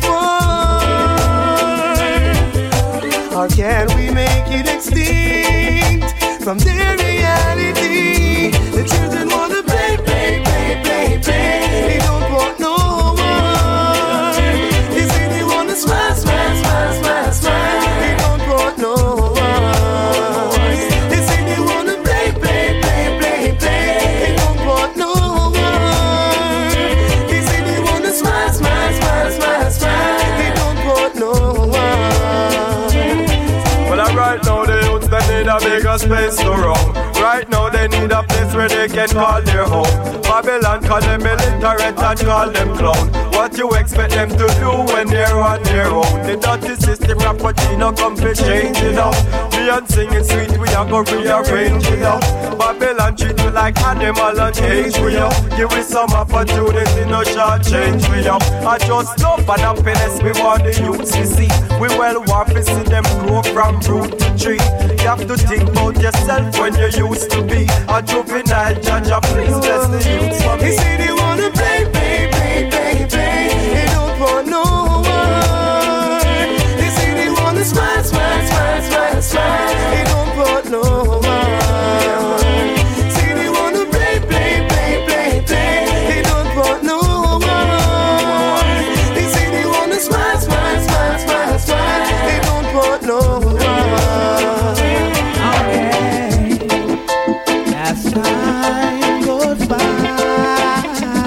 war? Or can we make it extinct from their reality? The children wanna play, play, play, play, play. They don't want no war. They say they wanna smile, smile, smile, smile, smile. They don't want no war. They say they wanna play, play, play, play, play. They don't want no war. They say they wanna smile, smile, smile, smile, smile. They don't want no war. Well, right now the youths they need a bigger space to roam. Right now they need a place where they can call their home. Babylon call them illiterate and call them clown. What you expect them to do when they're on their own? The dirty system Rappuccino come to change it up. Me and singing sweet we are gonna rearrange it up. Babylon treat you like animal and cage we up. Give we some opportunity, no short change we up. I just love and happiness we want the youths to see. We well want to see them grow from root to tree. You have to think about yourself when you used to be a juvenile. Jaja, please bless the youths for me. They say they wanna play, play, play, play, play. They don't want no war. They say they wanna smile, smile, smile, smile, smile. They don't want no war. Say they wanna play, play, play, play, play. They don't want no war. They say they wanna smile, smile, smile, smile, smile. They don't want no war. As time goes by,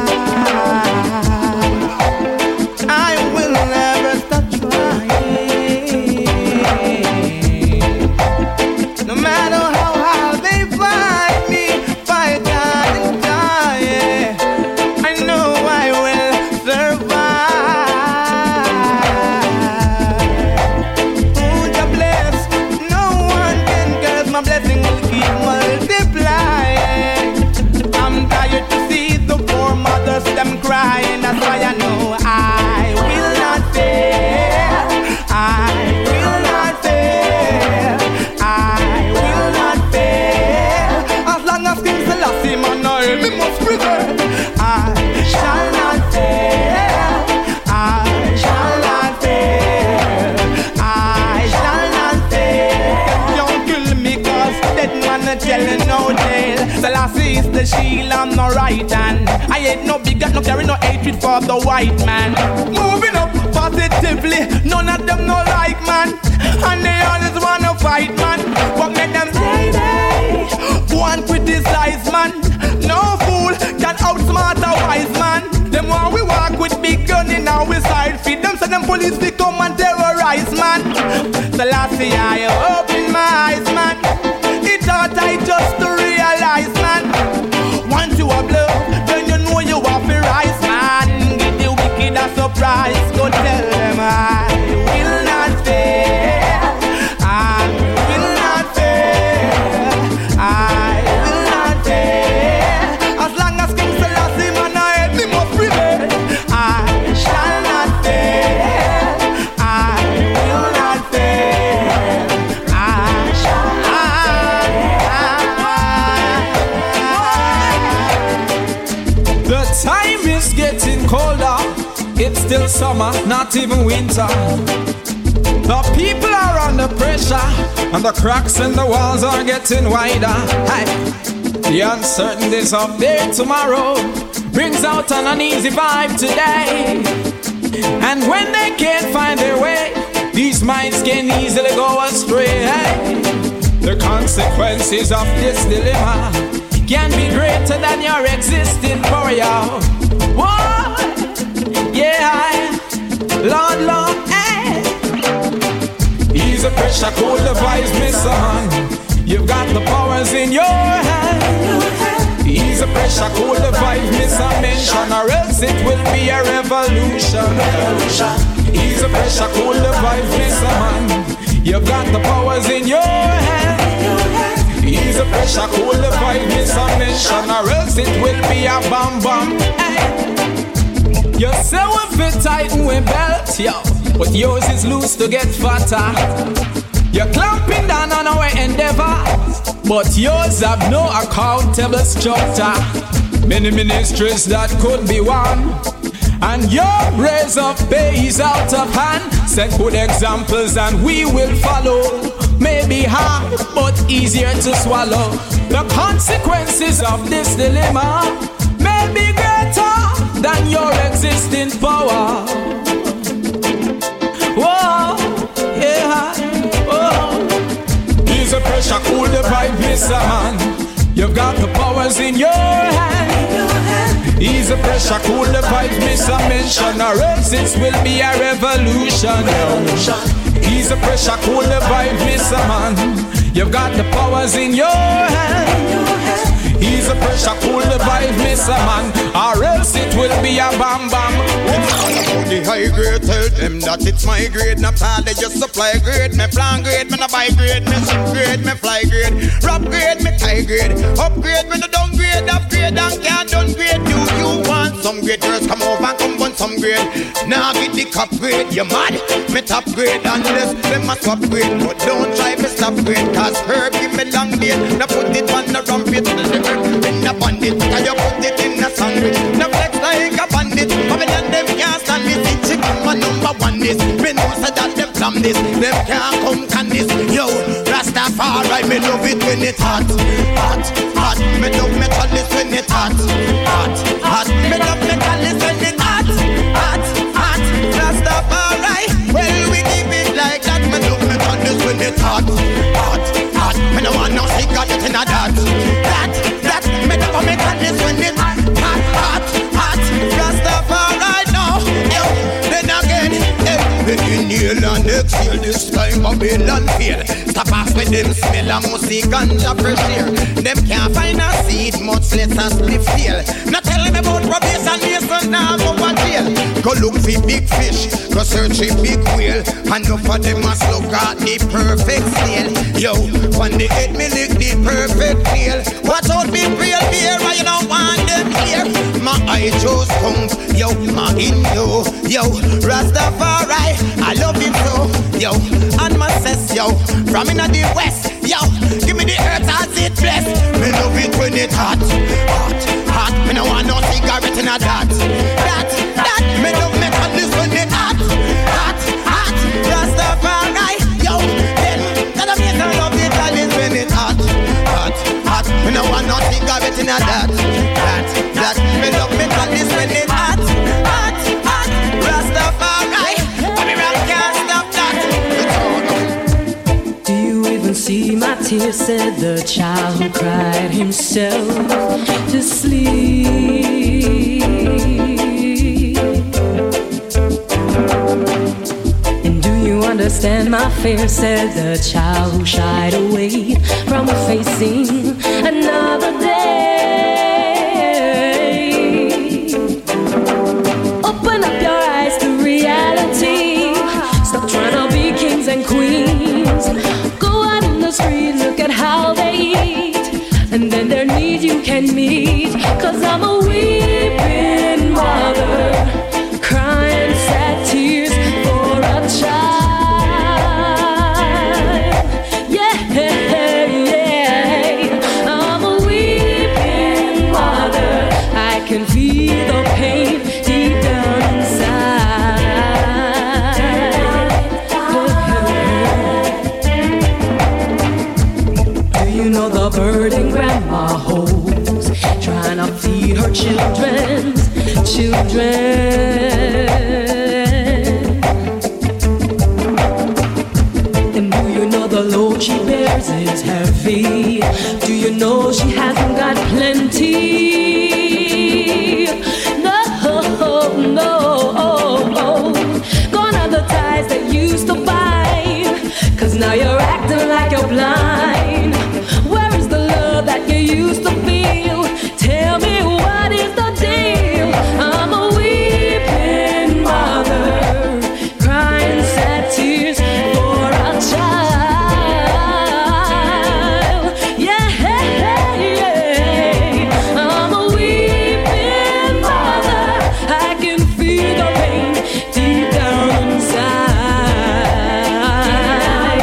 gonna tell you no tale. Selassie is the shield on the right hand. I ain't no big no carry no hatred for the white man. Moving up positively, none of them no like man, and they always wanna fight man. But make them say they go and criticize man. No fool can outsmart a wise man. Them want we walk with big gun in our side. Feed them so them police we come and terrorize man. Selassie I open my eyes man. It's hard I just to realize man. Once you have love, then you know you have to rise man. Give the wicked a surprise. Go tell them I will not fail. I will not fail. I will not fail. As long as King Selassie man I hate me must prevail. I shall not fail. I will not fail. I shall not. The time is getting colder. It's still summer, not even winter. The people are under pressure, and the cracks in the walls are getting wider. Hey. The uncertainties of day tomorrow brings out an uneasy vibe today. And when they can't find their way, these minds can easily go astray. Hey. The consequences of this dilemma can be greater than your existing power, y'all. Whoa. Yeah, Lord, Lord, eh. Ease the pressure, cool the vibes, me son. You've got the powers in your hand. Ease the pressure, cool the vibes, miss a mention, or else it will be a revolution. Ease the pressure, cool the vibes, miss a man. You've got the powers in your hand. Ease the pressure, cool the vibes, miss a mention, or else it will be a bam bam. Hey. You say we fit tight and we belt, yo, but yours is loose to get fatter. You're clamping down on our endeavors, but yours have no accountable structure. Many ministries that could be won, and your raise of pay is out of hand. Set good examples and we will follow. Maybe hard, but easier to swallow. The consequences of this dilemma may be greater than your existing power. Whoa, yeah, whoa. Ease the pressure, cool the vibe, mister man. You've got the powers in your hand. Ease the pressure, cool the vibe, mister mention, or else it will be a revolution. Ease the pressure, cool the vibe, mister man. You've got the powers in your hand. Ease the pressure, cool the vibe, mister man, or else it will be a bam bam. The high grade, tell them that it's my grade. Not all they just supply grade. Me plan grade, me no buy grade. Me ship grade, me fly grade. Rap grade, me tie grade. Upgrade, me no downgrade. Upgrade and can't downgrade. Do you want some grade? Girls come over and come on some grade. Now get the cup grade, you mad? Me top grade unless them a swap grade. But don't try me stop grade, cause herb give me long date. Now put it on the rampage. In a bandit, can you put it in a sandwich? No flex like a bandit. Babylon them can't stand this. It's chicken my number one this. Me know say that them plan this. Them can't come can this. Yo, Rastafari, me love it when it hot, hot, hot. Me love me chalice when it hot, hot, hot. Me love me chalice when it hot, hot, hot. Rastafari, well we keep it like that. Me love me chalice when it hot, hot, hot. Me no want no cigarette in a that, that. Me never make a this when it hot, hot, hot. Rastafari now, yo, then again, yo. When you inhale and exhale, this time Babylon feel. Stop off with them smell of music and the fresh air. Them can't find a seed, much less a split steel. Not tell me about probation, Mason, now go to jail. Go look for big fish, go search a big whale. And no for them must look at the perfect snail. Yo, when they hit me lick the perfect nail. Watch out big real beer, I don't want them here. My eye just pump, yo, my in yo, yo, Rastafari, I love him so, yo, and my says, yo, from in the west, yo, give me the earth as it bless. Me love it when it hot, hot, hot. Me no want no cigarette in a that, that, that. Me love me cut this when it hot, hot, hot. Rastafari, yo, then that I mean I love it when it hot, hot. a that, that, that. Me love me got this when it's hot, hot, hot. Rastafari, me rap can't stop that. Do you even see my tears? Said the child who cried himself to sleep. And do you understand my fear? Said the child who shied away from facing another day. Open up your eyes to reality. Stop trying to be kings and queens. Go out in the street, look at how they eat, and then their need you can meet. Cause I'm a weeping mother, crying sad tears for a child. Yeah, yeah, I'm a weeping mother. I can feel the pain deep down inside. Do you know the burden grandma holds, trying to feed her children's children? And do you know the load she bears is heavy? Do you know she hasn't got plenty? No, no. Gone are the ties that used to bind, cause now you're acting like you're blind. Where is the love that you used to feel? Tell me, what is the deal? I'm a weeping mother, crying sad tears for a child. Yeah, yeah, I'm a weeping mother. I can feel the pain deep down inside.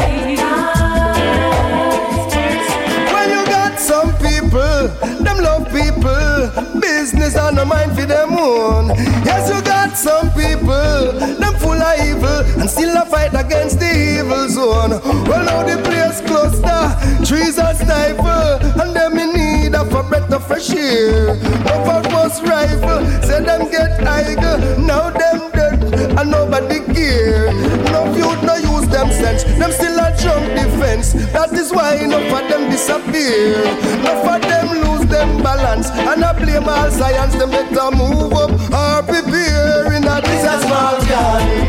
When you got some people, them love people, business on the mind for them own. Yes, you got some people, them full of evil, and still a fight against the evil zone. Well, now the place cluster, trees are stifle, and them in need of a breath of fresh air. Over bus rifle, say them get idle, now them dead, and nobody care. No youth no use them sense, them still a jump defense. That is why enough of them disappear. Enough of them lose them balance, and I blame all science. Them better move up or prepare in a this a small garden.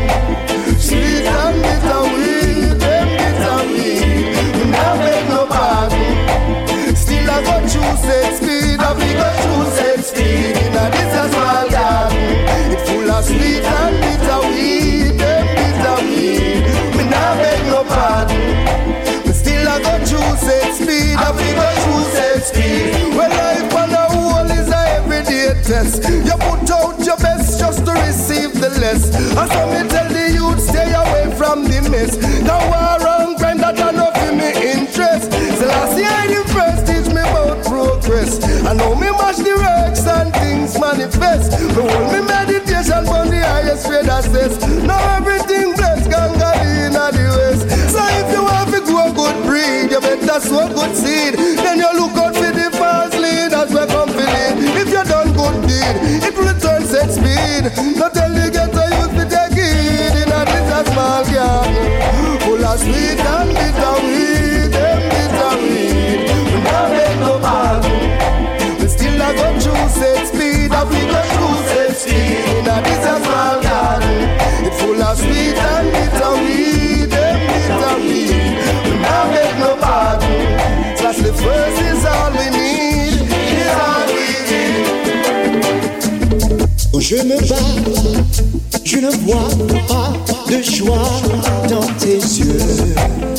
Sweet and bitter weed, them bitter weed. We now make no pardon. Still I go choose set speed, I we go choose set speed in a this a small garden. It full of sweet and bitter weed, them bitter weed. We now make no pardon. We still I go choose set speed, I we go choose set speed. Well, life on the whole is a everyday test. You put out your best just to receive the less. And so me tell the youth, stay away from the mess. Now war and crime that I know for me interest. So last year the first teach me about progress. I know me match the works and things manifest. Me hold me meditation from the highest grade assess. Now everything blessed, ganga in the west. So if you want to grow good breed, you better sow good seed. Then you look out for the false leaders where come for lead. If you done good deed, it will return set speed. Not tell you get a youth to take it in a little small garden. Full of sweet and bitter weed, them bitter weed. We now make no pardon. We still a go through set speed, and we go through set speed in a little small garden. It full of sweet and bitter weed, them bitter weed. We now make no pardon. That's the first is all we need. Is all we need. Je me bats, je ne vois pas de joie dans tes yeux.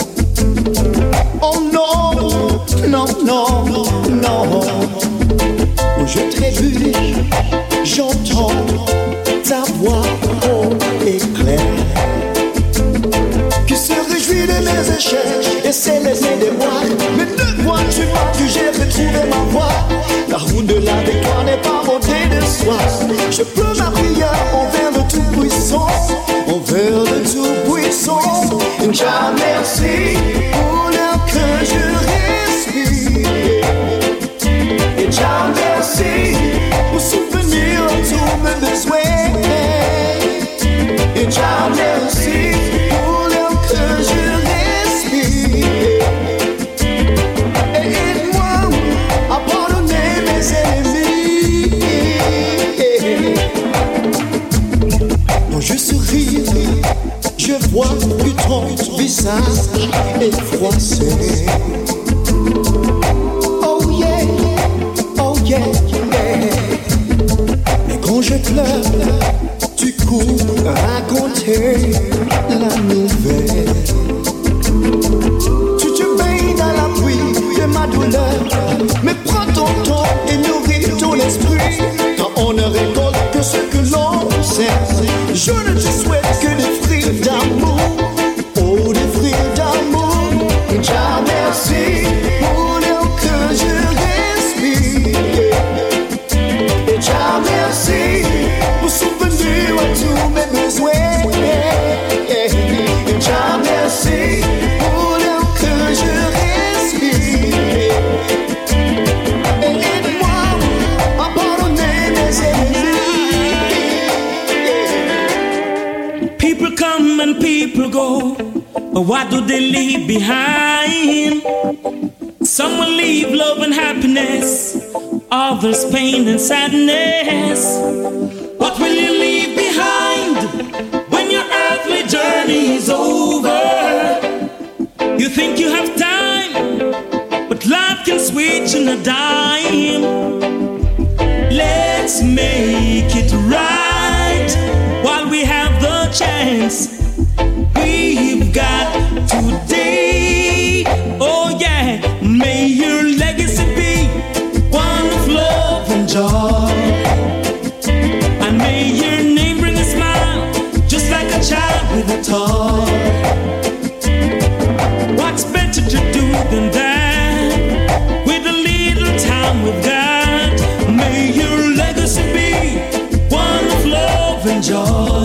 Oh non, non, non, non. Je trébuche, j'entends ta voix haut et claire, qui se réjouit de mes échecs et céleste des mois. Mais ne vois-tu pas que j'ai retrouvé ma voix? La route de la victoire n'est pas montée de soi. Je peux ma prière envers le Tout-Puissant, envers le Tout-Puissant. Jah merci pour l'air que je respire. Et Jah Oh yeah, oh yeah, yeah. Et quand je pleure, tu cours raconter la nouvelle. Tu te baignes dans la pluie de ma douleur, mais prends ton temps et nourris ton esprit. Quand on ne récolte que ce que l'on sème, je ne te souhaite que des fruits d'amour. Oh, des fruits d'amour. Jah merci pour l'air que je respire. Et Jah merci pour souvenir à tous mes besoins. Et Jah merci pour l'air que je respire. Et aide-moi à pardonner mes ennemis. People come and people go, but what do they leave behind? Some will leave love and happiness, others pain and sadness. What will you leave behind when your earthly journey is over? You think you have time, but life can switch in a dime. Let's make it right while we have the chance. We've got today. Oh yeah, may your legacy be one of love and joy, and may your name bring a smile, just like a child with a toy. What's better to do than that? With a little time we've got, may your legacy be one of love and joy.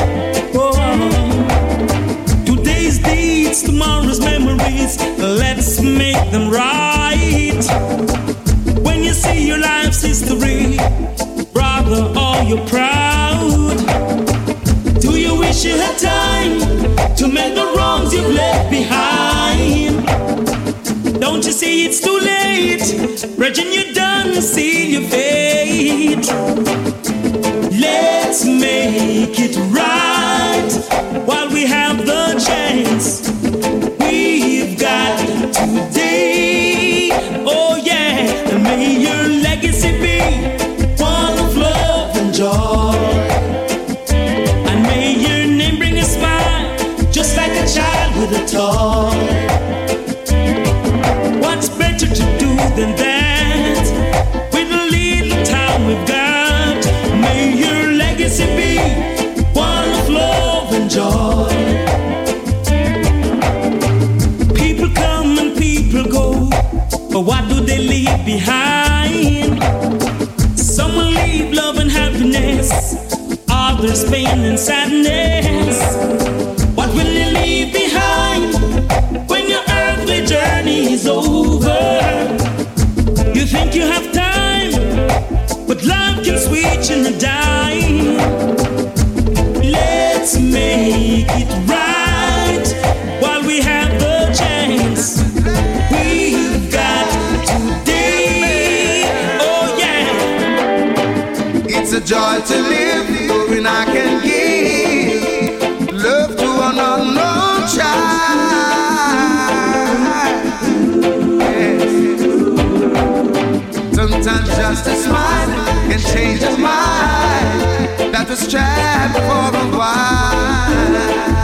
Tomorrow's memories, let's make them right. When you see your life's history, brother, are you proud? Do you wish you had time to make the wrongs you've left behind? Don't you see it's too late? Brethren, you're done, seal your fate. Let's make it right while we have the chance. We've got today. Oh yeah, and may your legacy be one of love and joy, and may your name bring a smile, just like a child with a toy. What's better to do than that? With a little time we've got, may your legacy be one of love and joy. People come and people go, but what do they leave behind? Some will leave love and happiness, others pain and sadness. What will you leave behind when your earthly journey is over? You think you have time, but life can switch in a dime. Let's make it right while we have the chance. We've got today. Oh yeah. It's a joy to live, knowing I can give love to an unknown child. Yes. Sometimes just a smile can change a mind that was trapped for a while.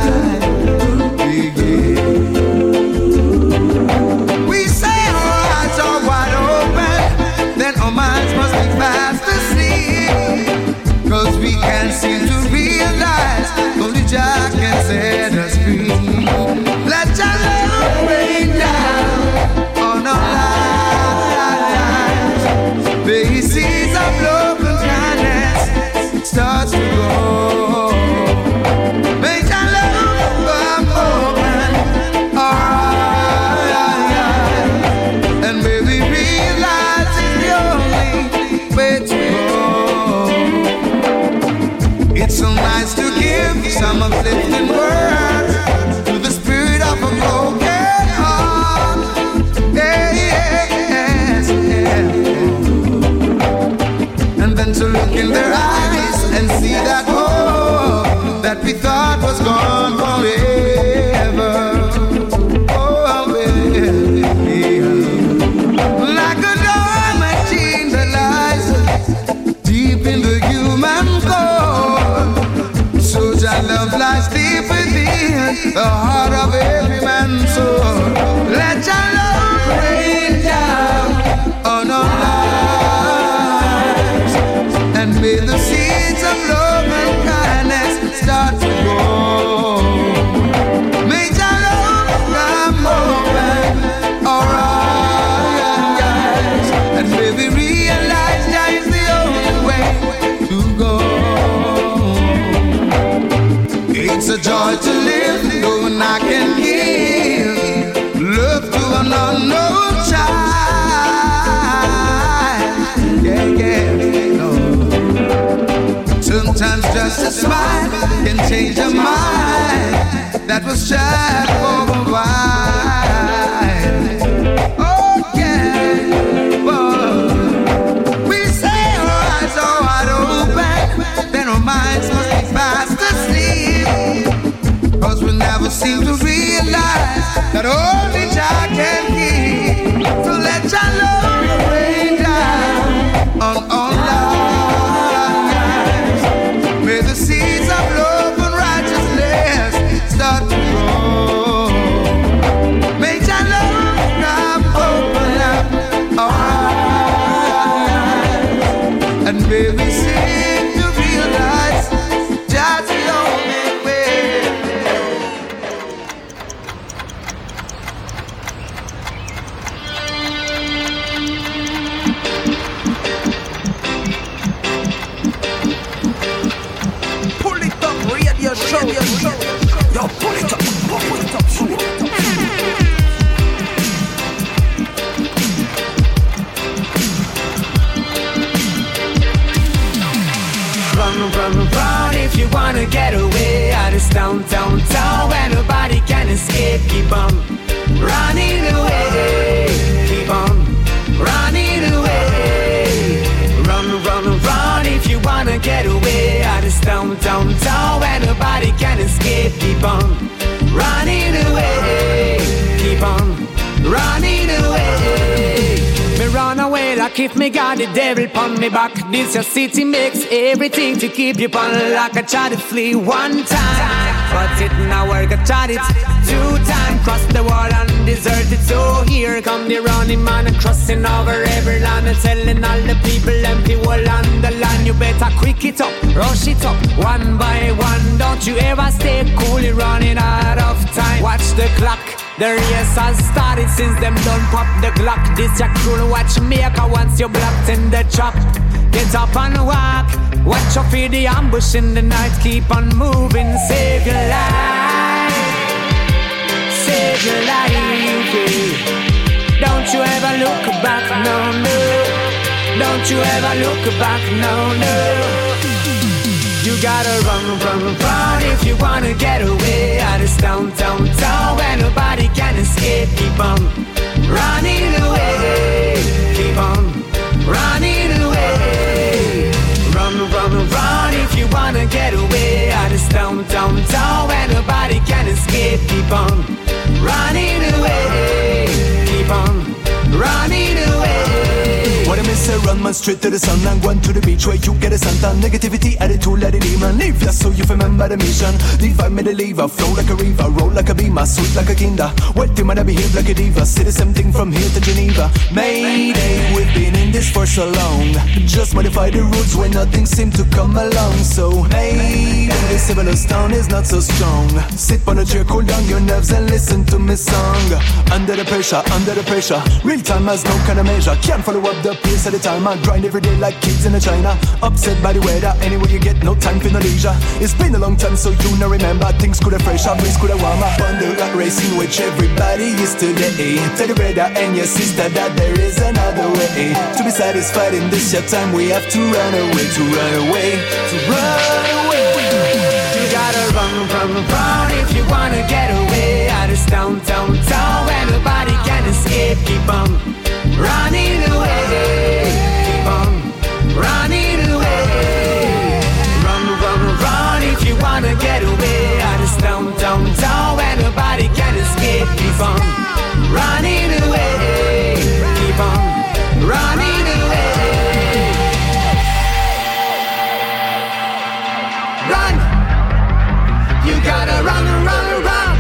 We say our hearts are wide open, then our minds must be fast asleep, 'cause we can't seem to realize only Jah can set us free. Let Jah love rain down on our lives. Faces of love and kindness starts to go. Make Jah love open our eyes, and may we realize it's the only way to go. It's so nice to give some uplifting words to the spirit of a broken heart. Yeah, yes, yeah. And then to look in their eyes and see that hope that we thought was gone forever. Oh, well, the heart of every man soul. Let your love rain down on our lives, and may the seeds of love and kindness start to grow. May your love come open our eyes, and may we realize that is the only way to go. It's a joy to live, knowing I can give love to an unknown child. Yeah, yeah, no. Sometimes just a smile can change a mind that was shut for a while. Oh, yeah, whoa. We say our eyes are wide open, then our minds must be fast asleep. Cause we never seem to realize that only Jah can keep. So let your love rain down on all lives. May the seeds of love and righteousness start to grow. May your love come open up our eyes, and may we seem to realize Jah's the only way. Pull it up, radio show. Yo, pull it up, pull it up, show. Run, run, run if you wanna get away out of this downtown town where nobody can escape. Keep on running away, keep on running away. Run, run, run if you wanna get away out of this downtown town where nobody can escape. Keep on running away, keep on running away. Me run away like if me got the devil pon me back. This your city makes everything to keep you pon lock. I try to flee one time, but it now work. I tried it two times, cross the wall and deserted. So here come the running man and crossing over every land and telling all the people empty wall on the land. You better quick it up, rush it up, one by one. Don't you ever stay cool, you're running out of time. Watch the clock. The race has started since them done pop the Glock. This your cruel watchmaker once you're blocked in the trap. Get up and walk, watch out for the ambush in the night. Keep on moving, save your life, save your life. Yeah. Don't you ever look back, no, no. Don't you ever look back, no, no. You gotta run, run, run if you wanna get away out of this downtown town where nobody can escape. Keep on running away, keep on running away. Run, run, run if you wanna get away out of this downtown town where nobody can escape. Keep on running away, keep on running away. What I miss, I run man straight to the sun and go to the beach where you get a Santa. Negativity attitude, let it leave man leave ya so you remember the mission. Leave I made a lever, flow like a river, roll like a beamer, sweet like a kinder. What do man I behave like a diva? Say the same thing from here to Geneva. Mayday, we've been in this for so long. Just modify the rules when nothing seems to come along. So maybe the civilized town is not so strong. Sit on a chair, cool down your nerves and listen to me song. Under the pressure, under the pressure, real time has no kind of measure. Can't follow up the pace at the time. I grind every day like kids in a China. Upset by the weather, anyway you get no time for no leisure. It's been a long time so you know remember. Things could have fresh up, breeze could have warm up. On the rat race in which everybody is today. Tell your brother and your sister that there is another way. To be satisfied in this your time we have to run away, to run away, to run away. You gotta run, run, run if you wanna get away out of this downtown town where nobody can escape. Keep on running away, keep on running away. Run, run, run if you wanna get away out of this downtown town where nobody can escape. Keep on running away, keep on running away. Run, you gotta run, run, run.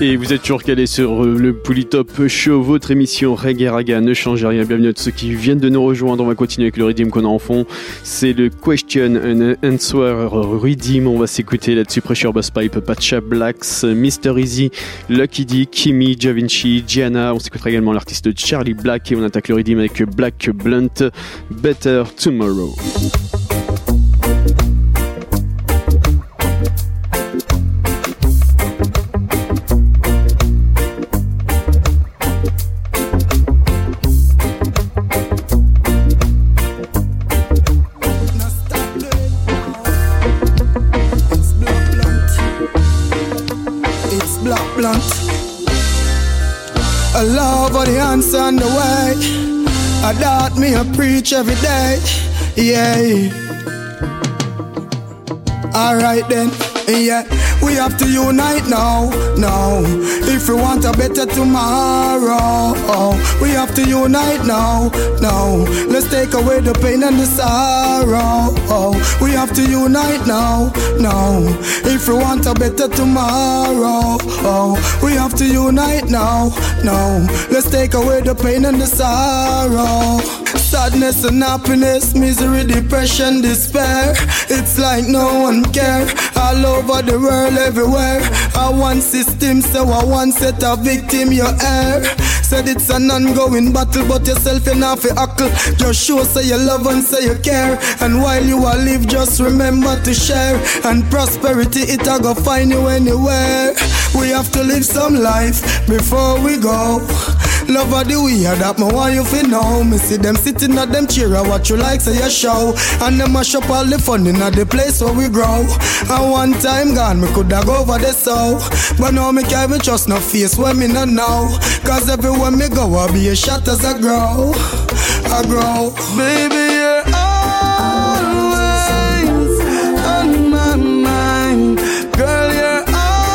Et vous êtes toujours calés sur le Polytop Show, votre émission Reggae Raga, ne changez rien. Bienvenue à tous ceux qui viennent de nous rejoindre. On va continuer avec le Redeem qu'on a en fond. C'est le Question and Answer Redeem. On va s'écouter là-dessus Pressure Bass Pipe, Pacha Blacks, mister Easy, Lucky D, Kimi, Javinci, Gianna. On s'écoutera également l'artiste Charlie Black et on attaque le Redeem avec Black Blunt, Better Tomorrow. I love all the answer on the way. I doubt me, I preach every day. Yeah. Alright then. Yeah, we have to unite now, now. If we want a better tomorrow, we have to unite now, now. Let's take away the pain and the sorrow. We have to unite now, now. If we want a better tomorrow, we have to unite now, now. Let's take away the pain and the sorrow. Sadness and happiness, misery, depression, despair. It's like no one care. All over the world, everywhere. I want system, so I want set a victim, your air. Said it's an ongoing battle, but yourself you're not for huckle. Just show say you love and say you care. And while you are live, just remember to share. And prosperity, it a go find you anywhere. We have to live some life before we go. Love of the way that me want you to know. Me see them sitting at them chair, I watch you like say a show. And them mash up all the fun in the place where we grow. And one time gone, me coulda go over the soul. But now me can't even trust no face when me not know. Cause everywhere me go, I be a shot as I grow. I grow. Baby, you're always on my mind. Girl, you're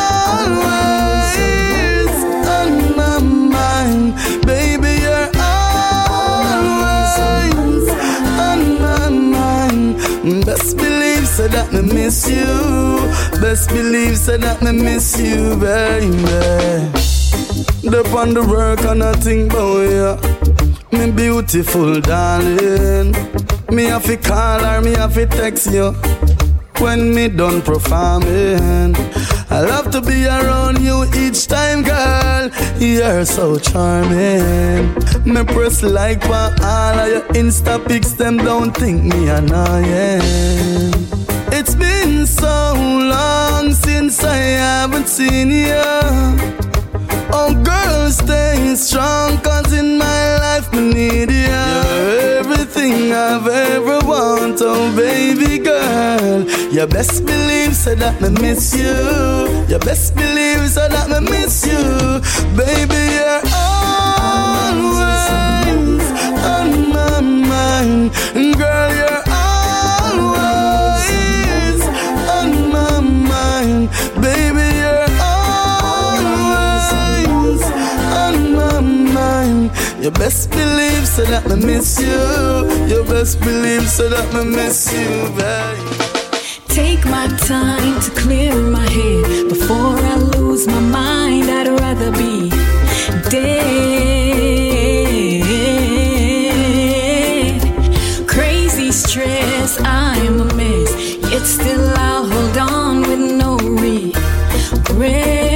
always on my mind. Baby, you're always on my mind. Best believe so that me miss you. Best believe so that me miss you, baby. Dep on the work and I think about you. Me beautiful darling. Me have to call her, me have to text you when me done performing. I love to be around you each time, girl. You're so charming. Me press like for all of your Insta pics, them don't think me annoying. It's been so long since I haven't seen you. Oh girl, stay strong, cause in my life me need you. You're everything I've ever wanted, oh baby girl. You best believe so that me miss you. You best believe so that me miss you. Baby, you're always on my mind. Girl, you're always on my mind. Baby, you're you best believe so that me miss you. You best believe so that me miss you, babe. Take my time to clear my head before I lose my mind. I'd rather be dead. Crazy stress, I'm a mess. Yet still I'll hold on with no regret.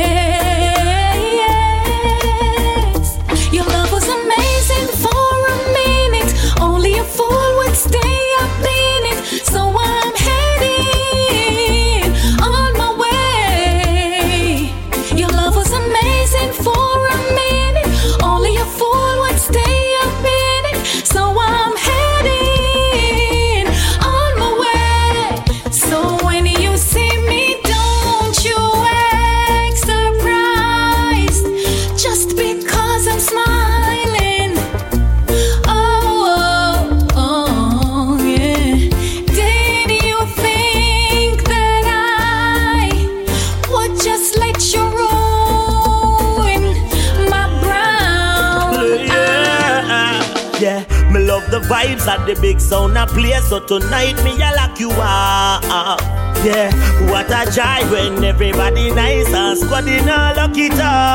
The vibes at the big sound a play, so tonight me a lock you up. Yeah, what a joy when everybody nice and squad in a lucky top.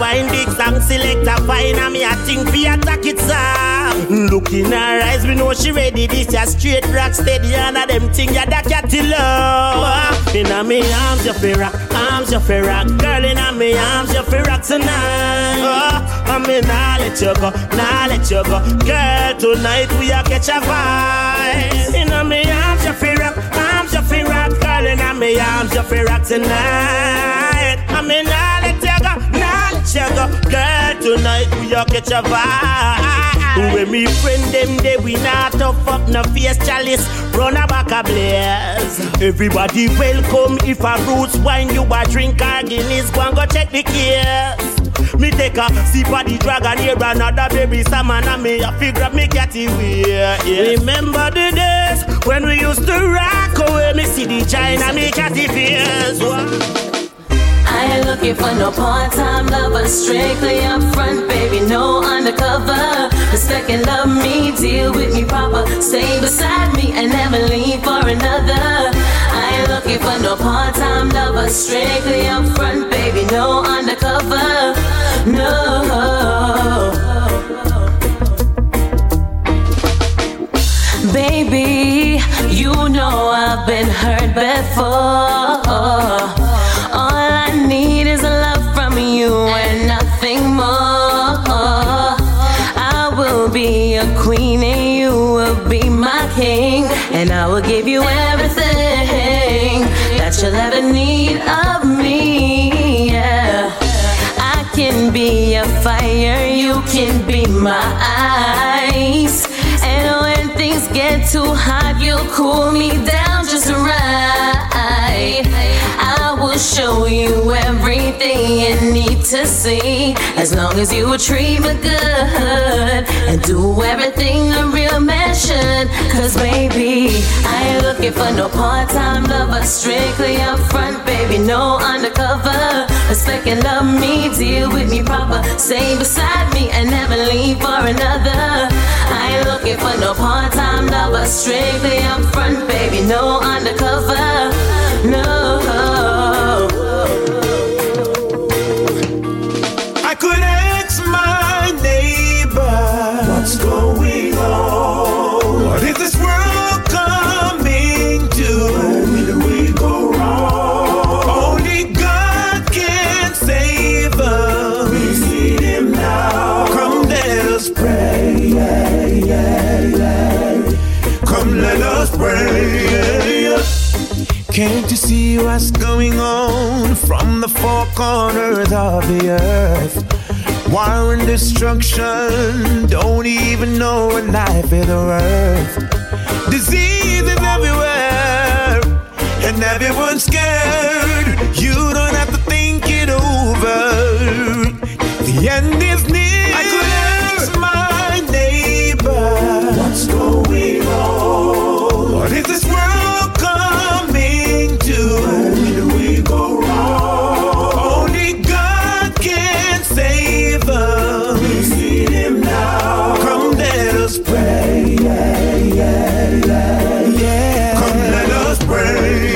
wine, big song selector fine, and me a think fi attack it song. Look in her eyes, we know she ready. This ya straight rock steady, and a them thing ya da catty love. Inna me arms you fi rock, arms you fi rock, girl inna me arms you fi rock tonight. Oh, I me nah let you go, nah let you go, girl tonight we a catch a vibe. Inna me arms you fi rock, arms you fi rock, girl inna me arms you fi rock tonight. I me nah let you go, nah let you go, girl tonight we a catch a vibe. When me friend them they we not tough up no face chalice, run a back a blaze. Everybody welcome. If a roots wine you a drink or Guinness, go and go check the case. Me take a sip of the dragon here, another baby salmon, and me a figure grab me catty wear. Yeah. Remember the days when we used to rock away. Me see the China, me catty fears. I ain't looking for no part-time lover, strictly upfront, baby, no undercover. Respect and love me, deal with me proper, stay beside me and never leave for another. I ain't looking for no part-time lover, strictly upfront, baby, no undercover, no. Baby, you know I've been hurt before. All I need is a love from you and nothing more. I will be your queen and you will be my king, and I will give you everything that you'll ever need of me. Yeah. I can be your fire, you can be my ice, and when things get too hot, you'll cool me down just right. I will show you everything you need to see, as long as you will treat me good and do everything a real man should. Cause baby, I ain't looking for no part-time lover, strictly upfront, baby, no undercover. Respect and love me, deal with me proper, stay beside me and never leave for another. I ain't looking for no part-time lover, strictly upfront, baby, no undercover, no. I could ask my neighbor, what's going on? What is this world coming to? Where do we go wrong? Only God can save us. We need Him now. Come let us pray. Yeah, yeah, yeah. Come let us pray. Came to see what's going on from the four corners of the earth. War and destruction, don't even know what life is worth. Disease is everywhere, and everyone's scared. You don't have to think it over. The end is near. I could ask my neighbor, what's going on? What is this world coming to? Where do we go wrong? Only God can save us. We need Him now. Come let us pray. Yeah, yeah, yeah, yeah. Come let us pray.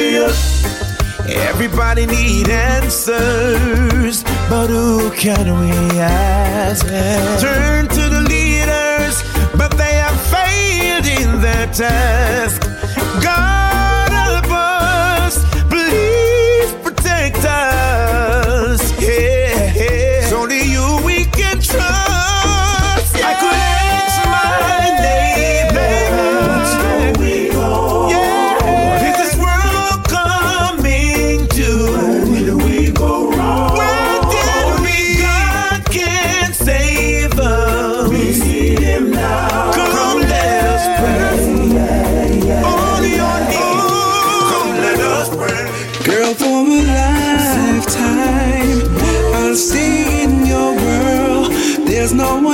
Everybody need answers, but who can we ask? Turn to the leaders, but they have failed in their task. God help us, please protect us. Yeah, yeah. It's only you we can trust. Yeah. I could ask my neighbor, what's going on? Yeah. What is this world coming to? Where do we go wrong? Where did we? God can save us. We need Him now. Come let us pray. Yeah, yeah. Only on Him. Come let us pray. Girl, for a lifetime, I'll stay in your world. There's no one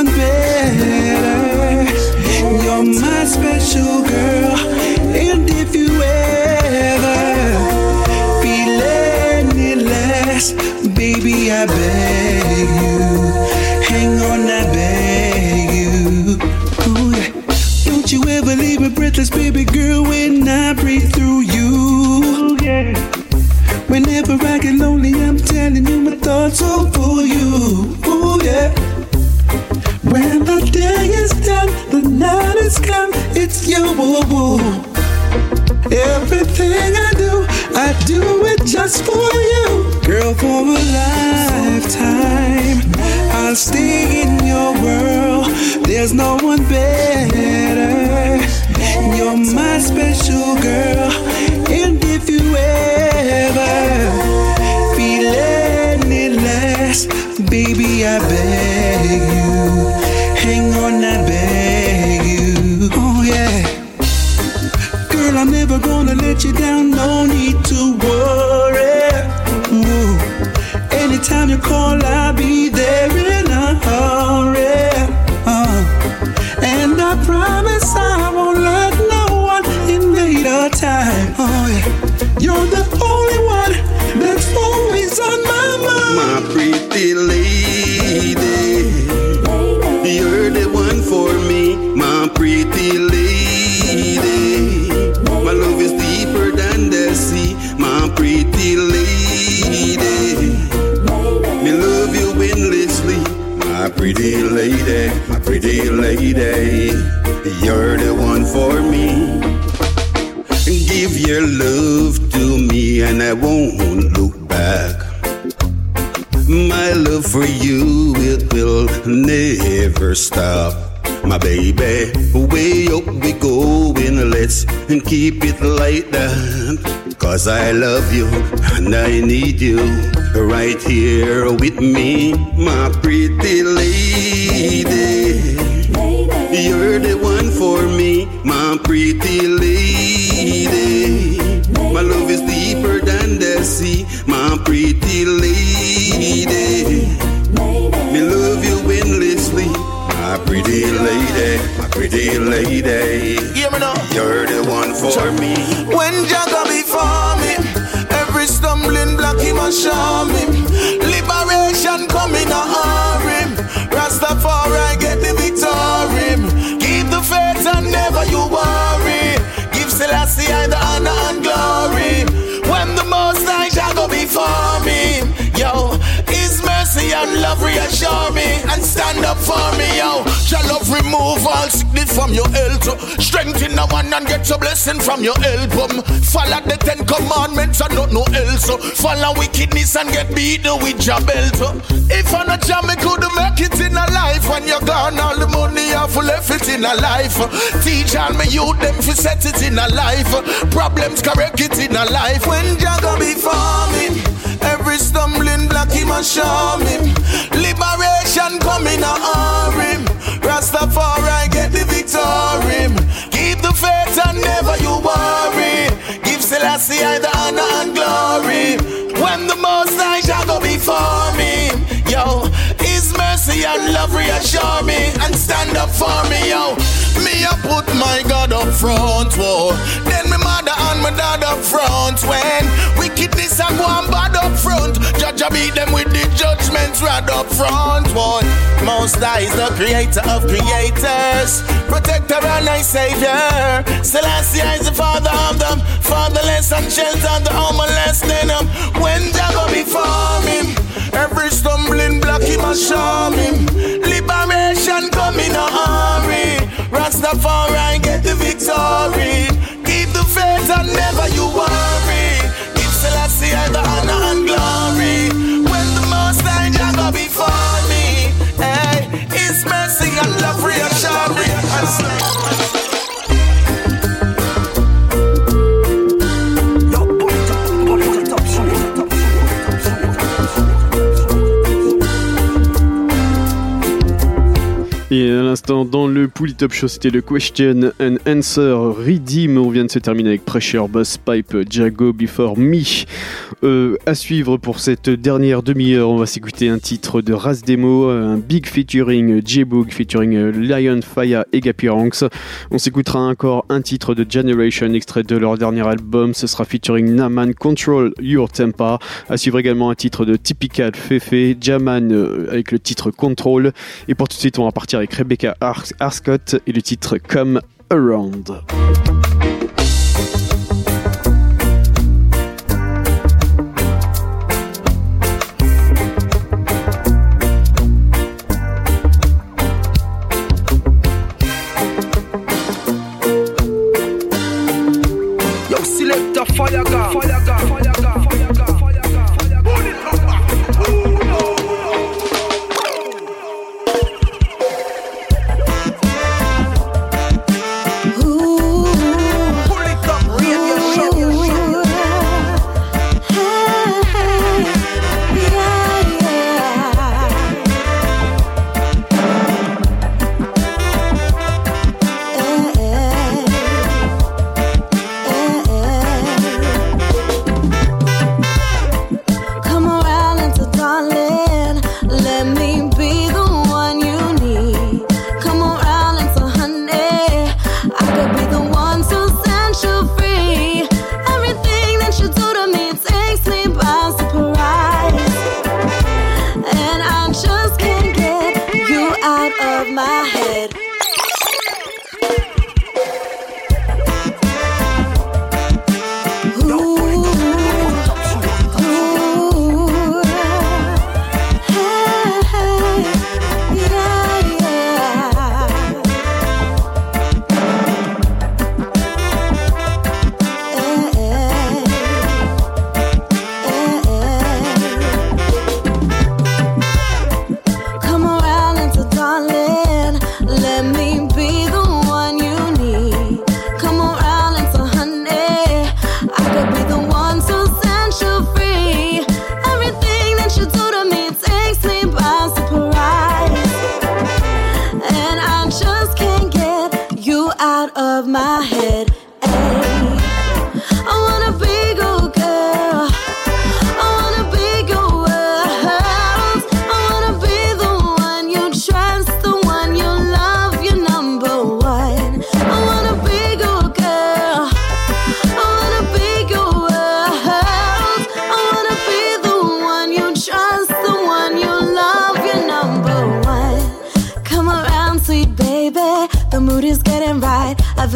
better. You're my special girl, and if you ever feel any less, baby, I beg you, hang on, I beg you. Ooh, yeah. Don't you ever leave me breathless, baby girl, when I breathe through you. Yeah. Whenever I get lonely, I'm telling telling you my thoughts all for you. Ooh, yeah. When the day is done, the night is come, it's you. Ooh, ooh. Everything I do, I do it just for you. Girl, for a lifetime, I'll stay in your world. There's no one better. You're my special girl. And if you ever feel any less, baby, I beg you, hang on, I beg you. Oh yeah. Girl, I'm never gonna let you down, no need to worry. Ooh. Anytime you call, I'll be there in a hurry. Uh. And I promise I won't let no one invade our time. Oh yeah, you're the only one that's always on my mind. My pretty lady, you're the one for me. My pretty lady, my love is deeper than the sea. My pretty lady, me love you endlessly. My pretty lady, my pretty lady, you're the one for me. Give your love to me and I won't look back. My love for you, it will never stop. My baby, way up we going, let's keep it like that. Cause I love you and I need you right here with me. My pretty lady, you're the one for me. My pretty lady, my love is deeper than the sea. My pretty lady, me love you endlessly. My pretty lady, my pretty lady, Hear me now. You're the one for me. When Jaga before me, every stumbling block he must show me. Liberation coming a hurry. Rastafari get the victory. Keep the faith and never you worry. Give Selassie I the honor and glory. When the Most High Jaga before me, yo, His mercy and love reassure me and stand up for me, yo. Your love remove all sickness from your health. Strengthen the one and get your blessing from your album. Follow the Ten Commandments and not no else. Follow wickedness and get beaten with your belt. If I'm not jam, me could make it in a life. When you're gone, all the money I've left it in a life. Teach all me youth them fi set it in a life. Problems correct it in a life. When Jaga before me, every stumbling block he must show me. Liberation coming a hurry. Rastafari get the victory. Keep the faith and never you worry. Give Selassie I the honor and glory. When the Most High Jaga before me, yo, His mercy and love reassure me and stand up for me, yo. Me I put my God up front, whoa. Then my mother and my dad up front. When wickedness and one bad up front, Judge I beat them with the judgments right up front, whoa. Most High is the creator of creators, protector and I savior. Selassie is the father of them, fatherless and shelter the homeless. Then um, when Jaga before me, every stumbling block he must show me. Liberation coming a hurry. Rastafari get the victory. Keep the faith and never you worry. Give Selassie the honor and glory. When the Most High Jaga before me, hey, His mercy and love reassure me. Et à l'instant, dans le Pouli Top Show, c'était le Question and Answer Redeem. On vient de se terminer avec Pressure, Boss Pipe, Jago Before Me. Euh, à suivre pour cette dernière demi-heure, on va s'écouter un titre de Ras Demo, un big featuring J-Boog, featuring Lion Faya et Gappy Ranks. On s'écoutera encore un titre de Generation, extrait de leur dernier album. Ce sera featuring Naman, Control Your Temper. À suivre également un titre de Typical Fefe, Jaman euh, avec le titre Control. Et pour tout de suite, on va partir avec Rebecca Ar- Arscott et le titre Come Around.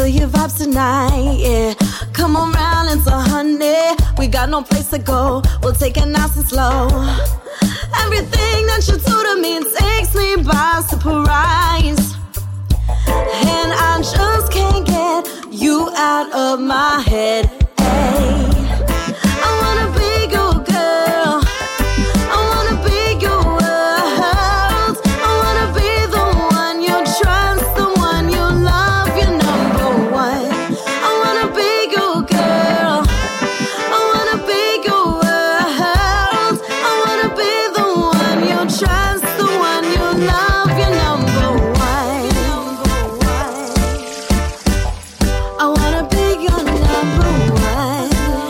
feel your vibes tonight, yeah. Come on round, it's a honey. We got no place to go, we'll take it nice and slow. Everything that you do to me takes me by surprise, and I just can't get you out of my head. Hey, I wanna be your girl, I wanna be your world, I wanna be the one you trust, the one you love, your number one. I wanna be your girl, I wanna be your world, I wanna be the one you trust, the one you love, your number one. I wanna be your number one.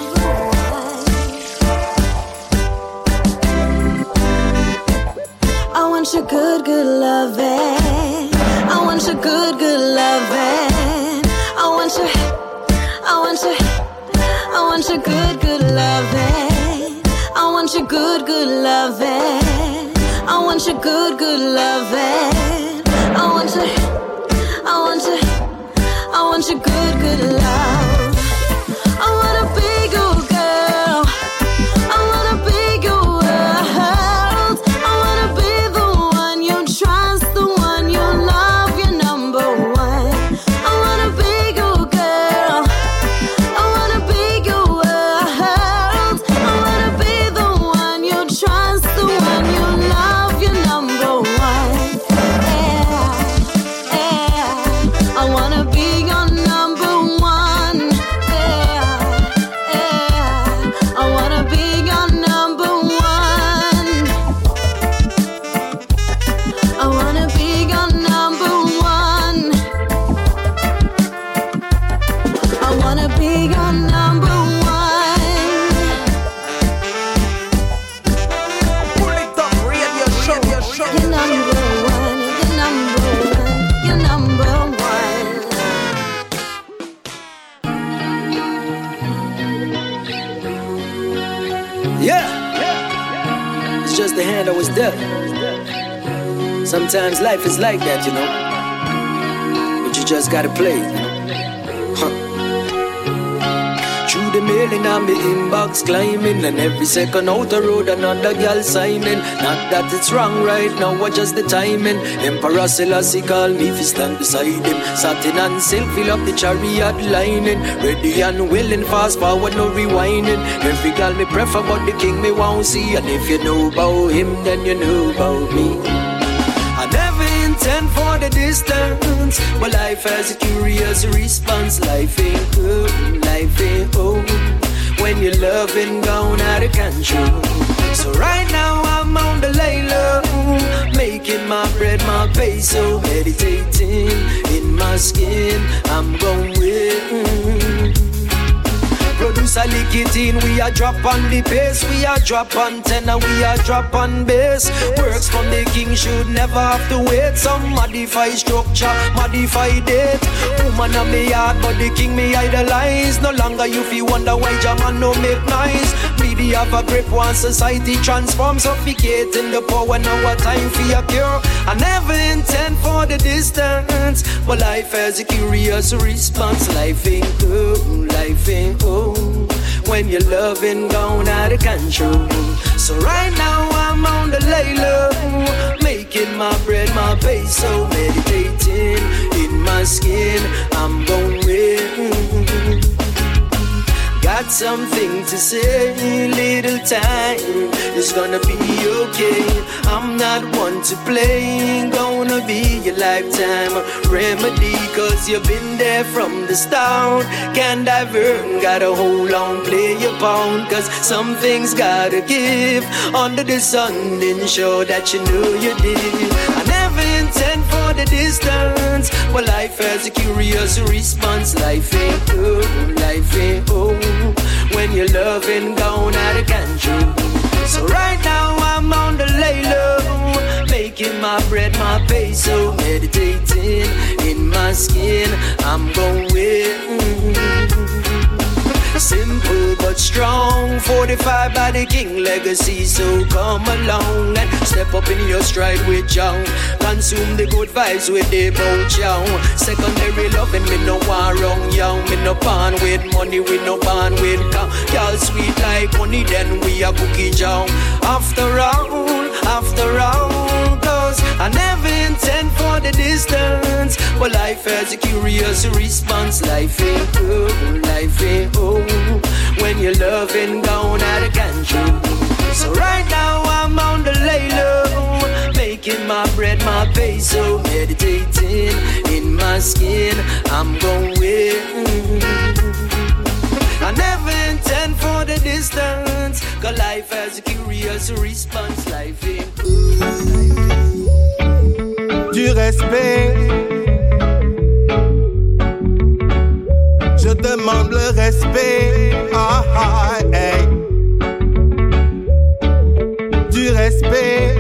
I want your good, good loving. I want your good, good loving. I want your, I want your, I want your good, good loving. I want your good, good loving. I want your good, good loving. I want your, I want your, I want your good, good love. I wanna be your girl, I wanna be your world, I wanna be the one you trust, the one you love, your number one. I wanna be your girl, I wanna be your world, I wanna be the one you trust, the one you love, your number one. Yeah, yeah. I wanna be your number one. Yeah, yeah. I wanna be your number one. I wanna be your number one. I wanna be your number one. Pull it up, radio show, your show. Your number one, your number one, your number one. Yeah. It's just the hand I was dealt. Sometimes life is like that, you know. But you just gotta play, you know. Huh. Through the mailing on my inbox climbing, and every second out the road another girl signing. Not that it's wrong right now, but just the timing. Emperor Selassie called me fi stand beside him. Satin and silk fill up the chariot lining. Ready and willing, fast forward, no rewinding. Every girl me prefer, but the king me won't see. And if you know about him, then you know about me. I never intend for the distance, but life has a curious response. Life ain't good, life ain't home, when you're loving gone out of control. So right now I'm on the lay low, making my bread my peso, meditating in my skin. I'm going with producer lick it in, we are drop on the bass, we are drop on tenor, we are drop on bass. Works from the king should never have to wait. Some modify structure, modify date. Woman on me yard, but the king me idolize. No longer you feel wonder why Jaman no make noise. Media have a grip on society, transform, suffocating the power. Now a time for your cure. I never intend for the distance, but life has a curious response. Life ain't good, life ain't home, when you're loving gone out of control. So right now I'm on the lay low, making my bread my peso, meditating in my skin. I'm going with, got something to say, little time, it's gonna be okay. I'm not one to play, gonna be your lifetime remedy, cause you've been there from the start. Can't divert, gotta hold on, play your pound, cause some things gotta give. Under the sun, then show that you know you did. I never intend for the distance, but life has a curious response. Life ain't good, life ain't home, when you're loving gone out of control. So right now I'm on the lay low, making my bread my peso, meditating in my skin. I'm going with simple but strong. Fortified by the king legacy, so come along and step up in your stride with John. Consume the good vibes with the boat, young. Secondary loving, me no one wrong, young. Me no pan with money, we no pan with cow. Y'all sweet like honey, then we a cookie John. After all, after all, cause I never intend for the distance, but life has a curious response. Life ain't good, life ain't old, when you're loving down out of control. So right now I'm on the lay low, making my bread my peso, meditating in my skin, I'm going. I never intend for the distance, cause life has a curious response. Life ain't good. Du respect, je demande le respect. Ah, ah, hey. Du respect,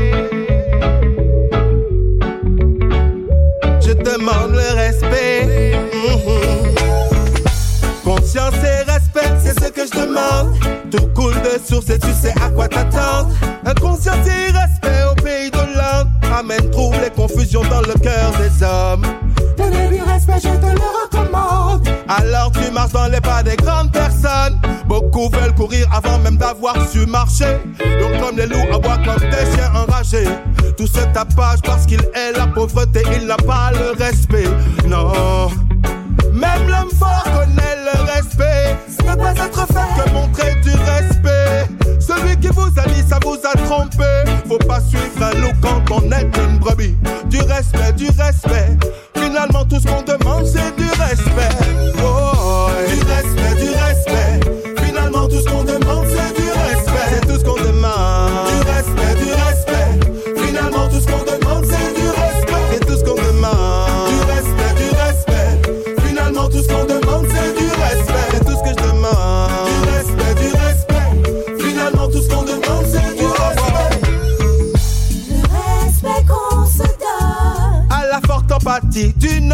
je demande le respect. Mm-hmm. Conscience et respect, c'est ce que je demande. Tout coule de source et tu sais à quoi t'attendre. Inconscience et respect au pays de l'Inde amène trouble et confusion dans le cœur des hommes. Donner du respect, je te le recommande. Alors tu marches dans les pas des grandes personnes. Beaucoup veulent courir avant même d'avoir su marcher. Donc comme les loups aboient comme des chiens enragés. Tout ce tapage parce qu'il est la pauvreté, il n'a pas le respect. Non. Même l'homme fort connaît le respect. Ce n'est pas être fait que montrer du respect. Celui qui vous a dit ça vous a trompé. Faut pas suivre un loup quand on est une brebis. Du respect, du respect. Finalement tout ce qu'on demande c'est du respect. Oh, du respect, du respect. Finalement tout ce qu'on demande c'est du respect. C'est tout ce qu'on demande. Du respect, du respect. Finalement tout ce qu'on demande c'est du respect. C'est tout ce qu'on demande. Du respect, du respect. Finalement tout ce qu'on demande c'est du respect. C'est tout ce que je demande. Du respect, du respect. Finalement tout ce qu'on demande c'est du respect. Le respect qu'on se donne. À la forte empathie d'une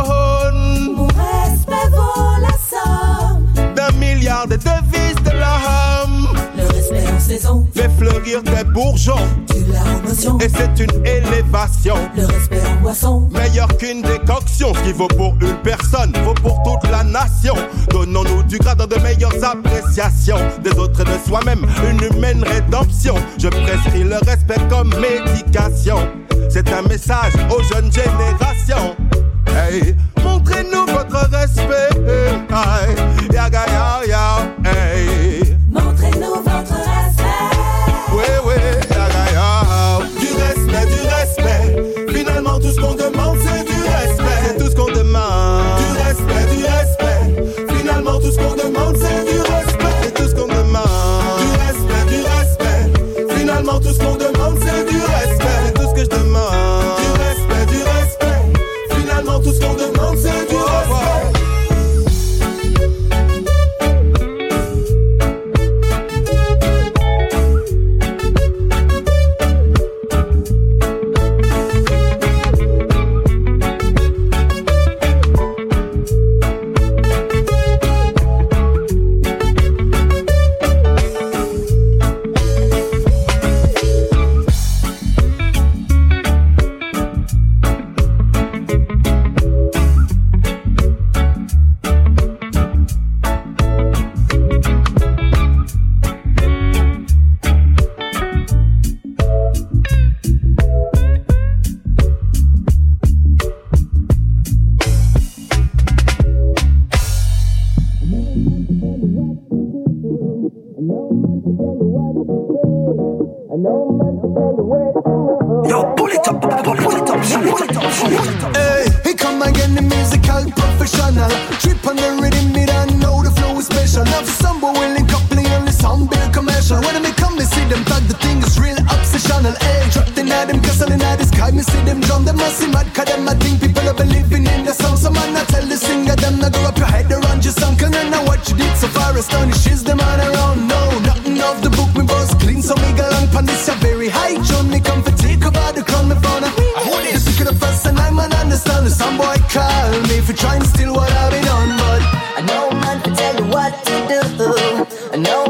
mône. Mon respect vaut la somme d'un milliard de devises de l'homme. Le respect en saison fait fleurir des bourgeons. Tu l'as en motion. Et c'est une élévation. Le respect en boisson. Meilleur qu'une décoction. Ce qui vaut pour une personne vaut pour toute la nation. Donnons-nous du grade dans de meilleures appréciations des autres et de soi-même. Une humaine rédemption. Je prescris le respect comme médication. C'est un message aux jeunes générations. Hey, montrez-nous votre respect. Hey, yaga ya ya. Hey, montrez-nous votre respect. Oui, oui, yaga ya. Du respect, du respect. Finalement tout ce qu'on demande c'est du respect. C'est tout ce qu'on demande. Du respect, du respect. Finalement tout ce qu'on demande c'est du respect. C'est tout ce qu'on demande. Du respect, du respect. Finalement tout ce qu'on demande c'est du respect. C'est tout ce que je demande. Du respect, du respect. Finalement tout ce qu'on demande c'est du respect. I know man to tell you what to do. I know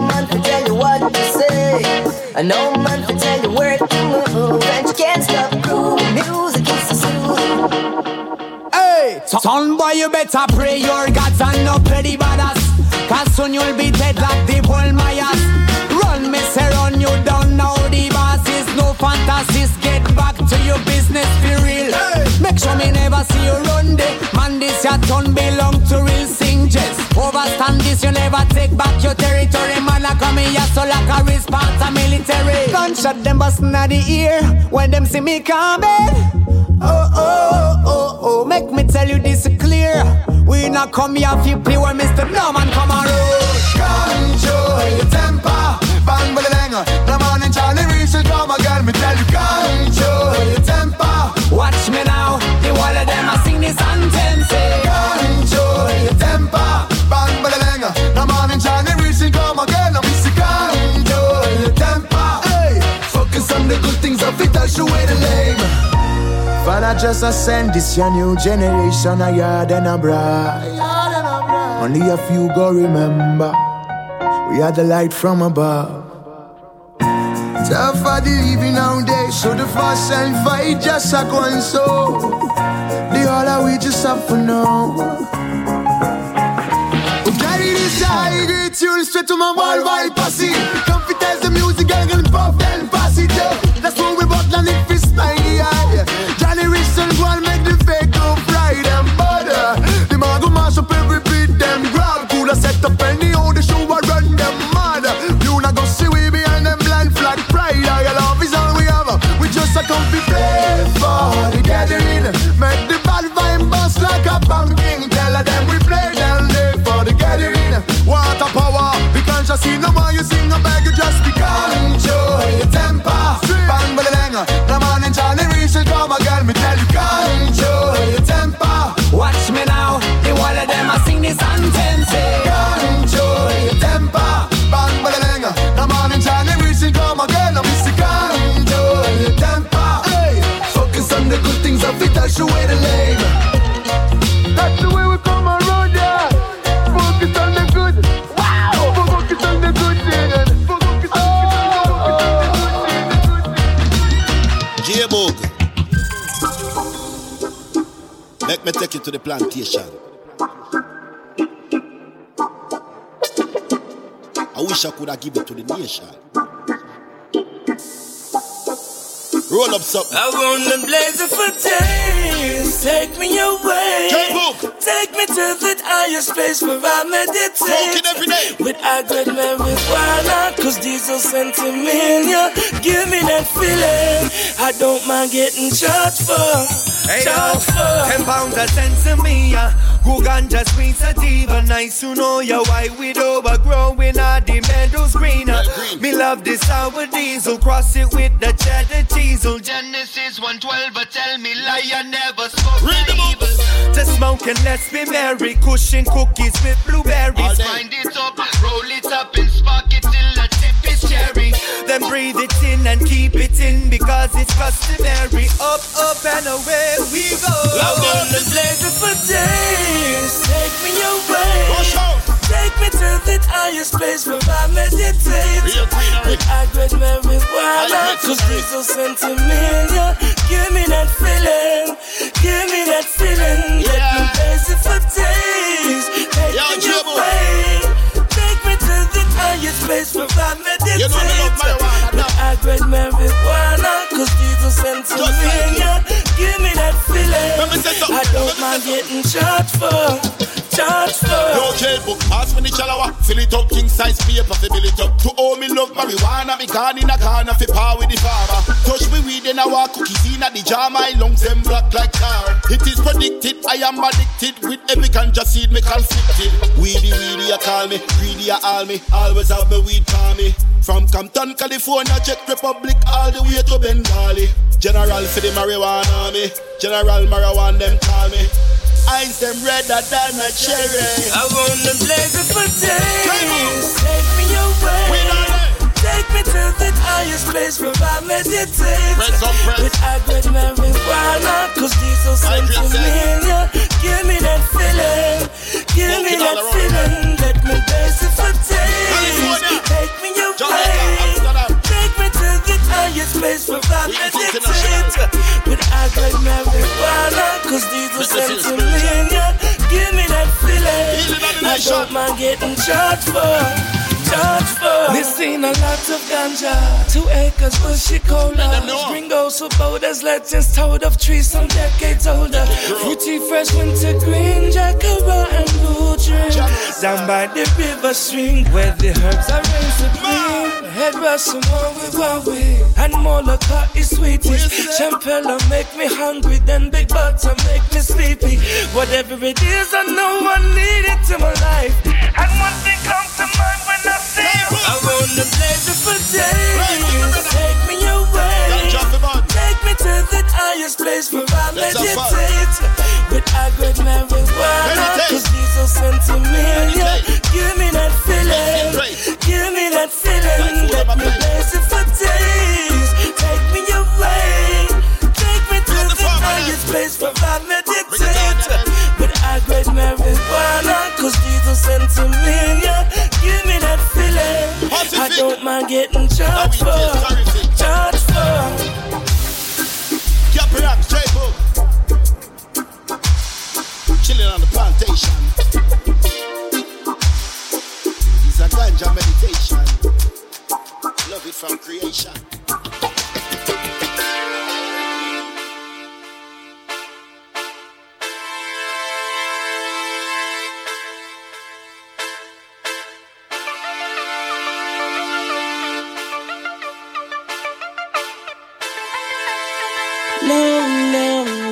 And no man can tell you where to move, and you can't stop grooving. Music is so soothing. Hey, son boy, you better pray your gods and not play the badass. Cause soon you'll be dead like the whole Mayas. Run, me say run, you don't know the boss is no fantasies. Get back to your business, be real. Hey. Make sure me never see you run there. Man, this your turn belong to real singers. Overstand this, you never take back your territory. Man, I come here so like a response to military. Gunshot them bustin' at the ear when them see me coming. Oh, oh, oh, oh, make me tell you this clear. We not come here if you play when Mister Norman come on road. Control your temper. Bang, bang, bang. The morning Johnny Reese will come again. Me tell you, control your temper. Watch me now. The wall of them I sing this anthem. Say, control your temper. Bang, bang, bang. The morning Johnny Reese will come again. I'm Mister Control your temper. Hey, focus on the good things of it. I'll show you the lame. Father just a send this your new generation a yard and a bright. Only a few go remember we are the light from above. Tough for the living nowadays, so the fuss and fight just a go and so. The all are we just have for now. We carry this high grade tune straight to my worldwide posse. Confidence the music gang and pop then pass it up. That's what we bought and it fits my eye. Johnny Richardson go and make the fake go fly them butter. The man go mash up every beat them grab. Cool a set up any how the show a run them mad. You not go see we behind them blind flag pride. Your love is all we have. We just a come to play for the gathering. Make the bad vibe bust like a pumpkin. Tell them we play down there for the gathering. Water power, we can't just see no more. You sing a bag, you just be control your temper. Bang, bang, bang. The man in Johnny Reese will come again. Me tell you, control your temper. watch me now. The wall of them I sing this anthem. Say, control your temper. Bang, bang, bang. The man in Johnny Reese will come again. I'm Mister Control your temper. Hey, focus on the good things of it. I'll show you the lane. That's the way we come around, yeah. Focus on the good. Wow. Focus on the good thing. Focus on J-Boog, let me take you to the plantation. I wish I could have given it to the nation. Roll up something. I wanna blaze it for days. Take me away. J-Boog. Take me to that higher space where I meditate. Smoking every day. With high-grade marijuana, cause diesel sentimental. Give me that feeling. I don't mind getting charged for. Hey yo, ten pounds a sense to me, yeah. Who ganja sweet sativa, nice to know ya. Why we overgrowing our the meadows greener. Me love this sour diesel, cross it with the cheddar cheese. Genesis one twelve, but tell me lie, I never spoke evil. To smoke and let's be merry, cushion cookies with blueberries. Find it up, roll it up and spark it till the tip is cherry. Then breathe it in and keep it in because it's customary. Up, up and away we go. I wanna blaze it for days. Take me away. Take me to that highest place where I meditate. With high-grade marijuana, cause diesel sentimental. Give me that feeling. Give me that feeling. Let me blaze it for days. Take me away. Take me to the highest place where I meditate. You know me love marijuana. With high-grade marijuana, cause diesel sentimental. Give me that feeling. I don't mind getting charged for. Charged for. No J-Boog, ask me the chalawa. Fill it up, king size paper, fi fill it up. To all me love marijuana, me gone in a corner, fi power with the farmer. Touch me weed and I walk cookies in a the jar, my lungs them black like tar. It is predicted, I am addicted. With every ganja seed, me conflicted. Weedy, weedy, you call me. Greedy, you all me. Always have me weed for me. From Compton, California, Czech Republic, all the way to Bengali. General for the marijuana, me. General marijuana, them call me. Eyes them redder than a cherry. I wanna blaze it for days. Take me away. Take me to that highest place where I meditate. With high-grade marijuana, cause diesel sentimental. Give me that feeling. Give me that feeling. Let me blaze it for days. Take me away. Take me to place for that meditate. With high-grade marijuana, cause these are sentiment. Give me that feeling. I don't mind getting charged for. Charged for. We seen a lot of ganja, two acres bushy cola. Gringos for boulders, legends told of trees some decades older. Fruity fresh winter green, jacaranda and blue dream. Down by the river stream, where the herbs are rain supreme. Head rush some more with Huawei, and Moloka is sweetest. Champella make me hungry, then Big Butter make me sleepy. Whatever it is, I know I need it in my life. And one thing comes to mind when I see you. I wanna blaze it for days. Take me away. Take me to the highest place where I meditate. With high-grade marijuana, cause these are sentimental. Give me that feeling. Give me that feeling. Let me blaze it for days. Take me away. Take me to the highest place where I meditate. With high-grade marijuana, cause these are sentimental. Give me that feeling. I don't mind getting charged for. Charged for. Capriac, straight up. Chilling on the plantation. It's a ganja meditation. Love it from creation. No, no,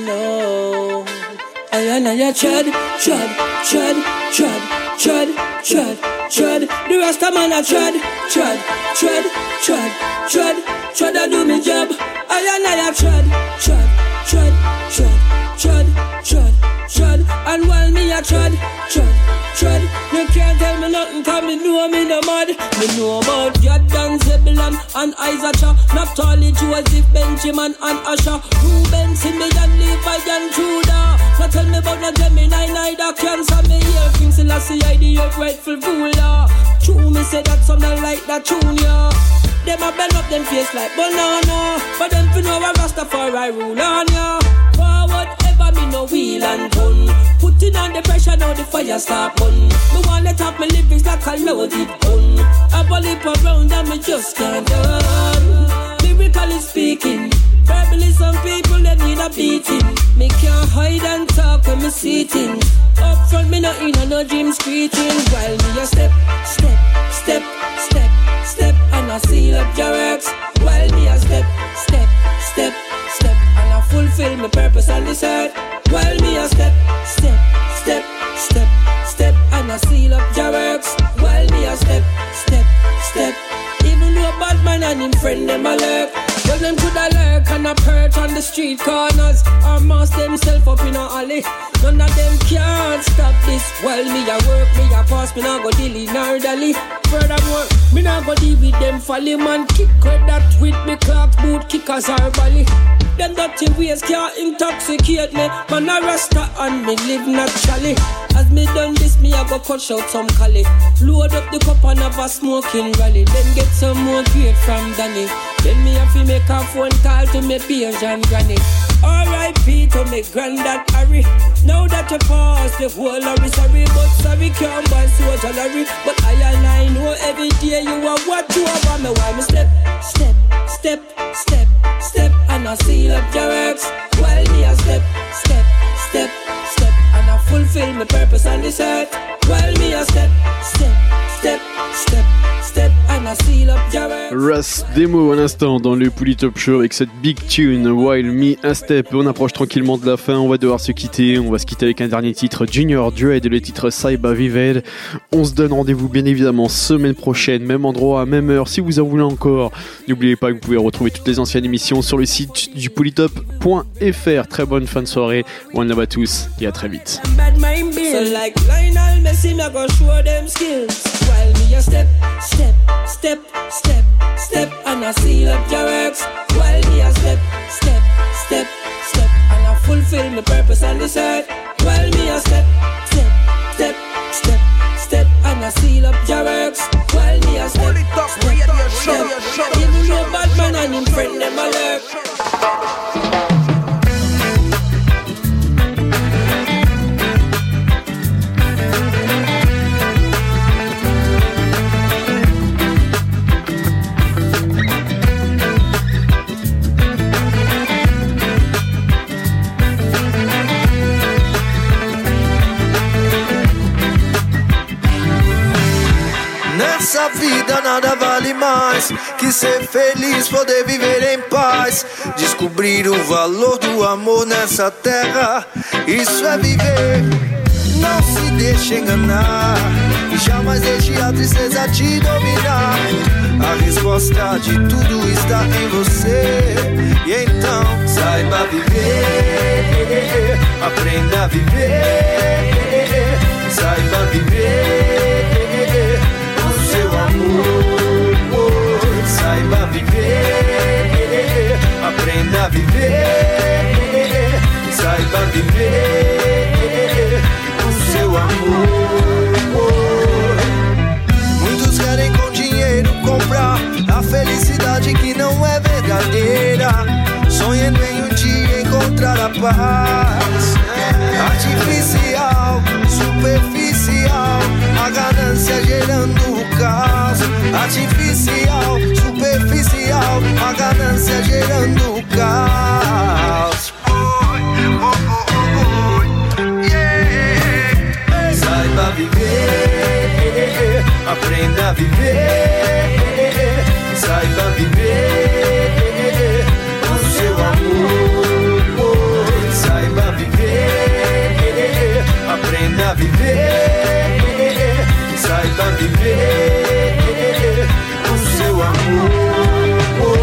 no. I and I tread, tread, tread, tread, tread, tread, tread. The rest of man I tread, tread, tread, tread, tread, tread. I do me job. I and I tread, tread, tread, tread, tread, tread, tread. And while me I tread, tread, tread. You can't tell me nothing 'cause me know me no mad. Me know about Jordan, Zebulon and Isaac. Naphtali, Joseph, Benjamin and Asher. Reuben, Simeon, Levi and Judah. So tell me about no Gemini, neither Cancer. Me hear King Selassie, I the earth rightful ruler. True, me say that some don't like that tune, yeah. Them a bend up them face like banana, but them fi know a Rastafari rule on ya. Forward ever me no wheel and gun. Putting on the pressure now the fire start burn. Me want let up me lyrics like a loaded gun. I ball it around and me just can't done. Lyrically speaking, verbally some people they need a beating. Me can't hide and talk when me sitting. Up front me not in a no dream screeching. While me a step, step, step, step, step, and I seal up your works. While me a step, step, step, step, and I fulfill my purpose on this earth. While me a step, step, step, step, step, and I seal up your works. While me a step, step, step. Even though a bad man and him friend them a lurk. Well them coulda lurk and a perch on the street corners, or mask themself up in a alley. None of them can't stop this. While me a work, me a pass, me nah go dilly nor dally. Furthermore, me nah go deal with them folly man. Kick with that with me clock boot kickers or bally. Them dirty ways can't intoxicate me. Man a rasta and me live naturally. As me done this, me a go cut out some cali. Load up the cup and have a smoking rally. Then get some more grade from Danny. Then me have to make a phone call to me peers and granny. R I P to me granddad Harry. Now that you pass the whole Larry, sorry, but sorry can't buy social Larry. But I and I know every day you are what you are for me. Why me step, step, step, step, step, and I seal up your works. While me a step, step, step, step, and I fulfill my purpose on this earth. While me a step, step, step, step, step, and I seal up your works. Russ Demo à l'instant dans le Pouli Top Show avec cette big tune While Me a Step. On approche tranquillement de la fin, on va devoir se quitter. On va se quitter avec un dernier titre, Junior Dread et le titre Saiba Vived. On se donne rendez-vous bien évidemment semaine prochaine, même endroit, même heure. Si vous en voulez encore, n'oubliez pas que vous pouvez retrouver toutes les anciennes émissions sur le site du polytop point f r. Très bonne fin de soirée, one love à tous et à très vite. So like Lionel Messi, me go show them skills. While me a step, step, step, step, step, and I seal up your works. While me a step, step, step, step, and I fulfill my purpose on this earth. While me a step, step, step, step, step, and I seal up your works. While me a step, step, step, step. Even though bad man and him friend them a Nessa vida nada vale mais que ser feliz, poder viver em paz. Descobrir o valor do amor nessa terra, isso é viver. Não se deixe enganar e jamais deixe a tristeza te dominar. A resposta de tudo está em você. E então saiba viver, aprenda a viver. Saiba viver o seu amor. Saiba viver, aprenda a viver. Saiba viver o seu amor. Muitos querem com dinheiro comprar a felicidade que não é verdadeira, sonhando em um dia encontrar a paz. Artificial, superficial, a ganância gerando o caos. Artificial, superficial, a ganância gerando o caos. Saiba viver, aprenda a viver. Saiba viver o seu amor. Saiba viver, aprenda a viver. Saiba viver o seu amor.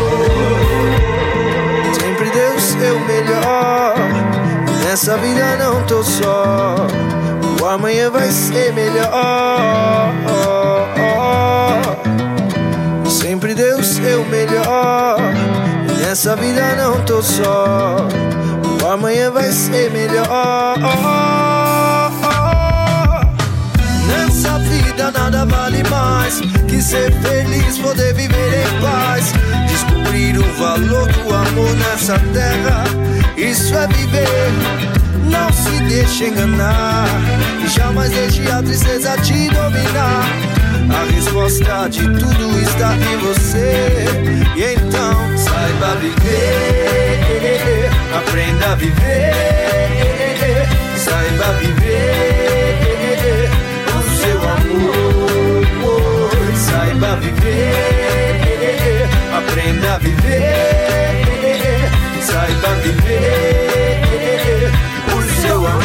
Sempre dê o seu melhor. Nessa vida não tô só. O amanhã vai ser melhor. Sempre dê o seu melhor. Nessa vida não tô só. O amanhã vai ser melhor. Nessa vida nada vale mais que ser feliz, poder viver em paz. Descobrir o valor do amor nessa terra, isso é viver. Não se deixe enganar e jamais deixe a tristeza te dominar. A resposta de tudo está em você. E então saiba viver, aprenda a viver. Saiba viver o seu amor. Saiba viver, aprenda a viver. Saiba viver o seu amor.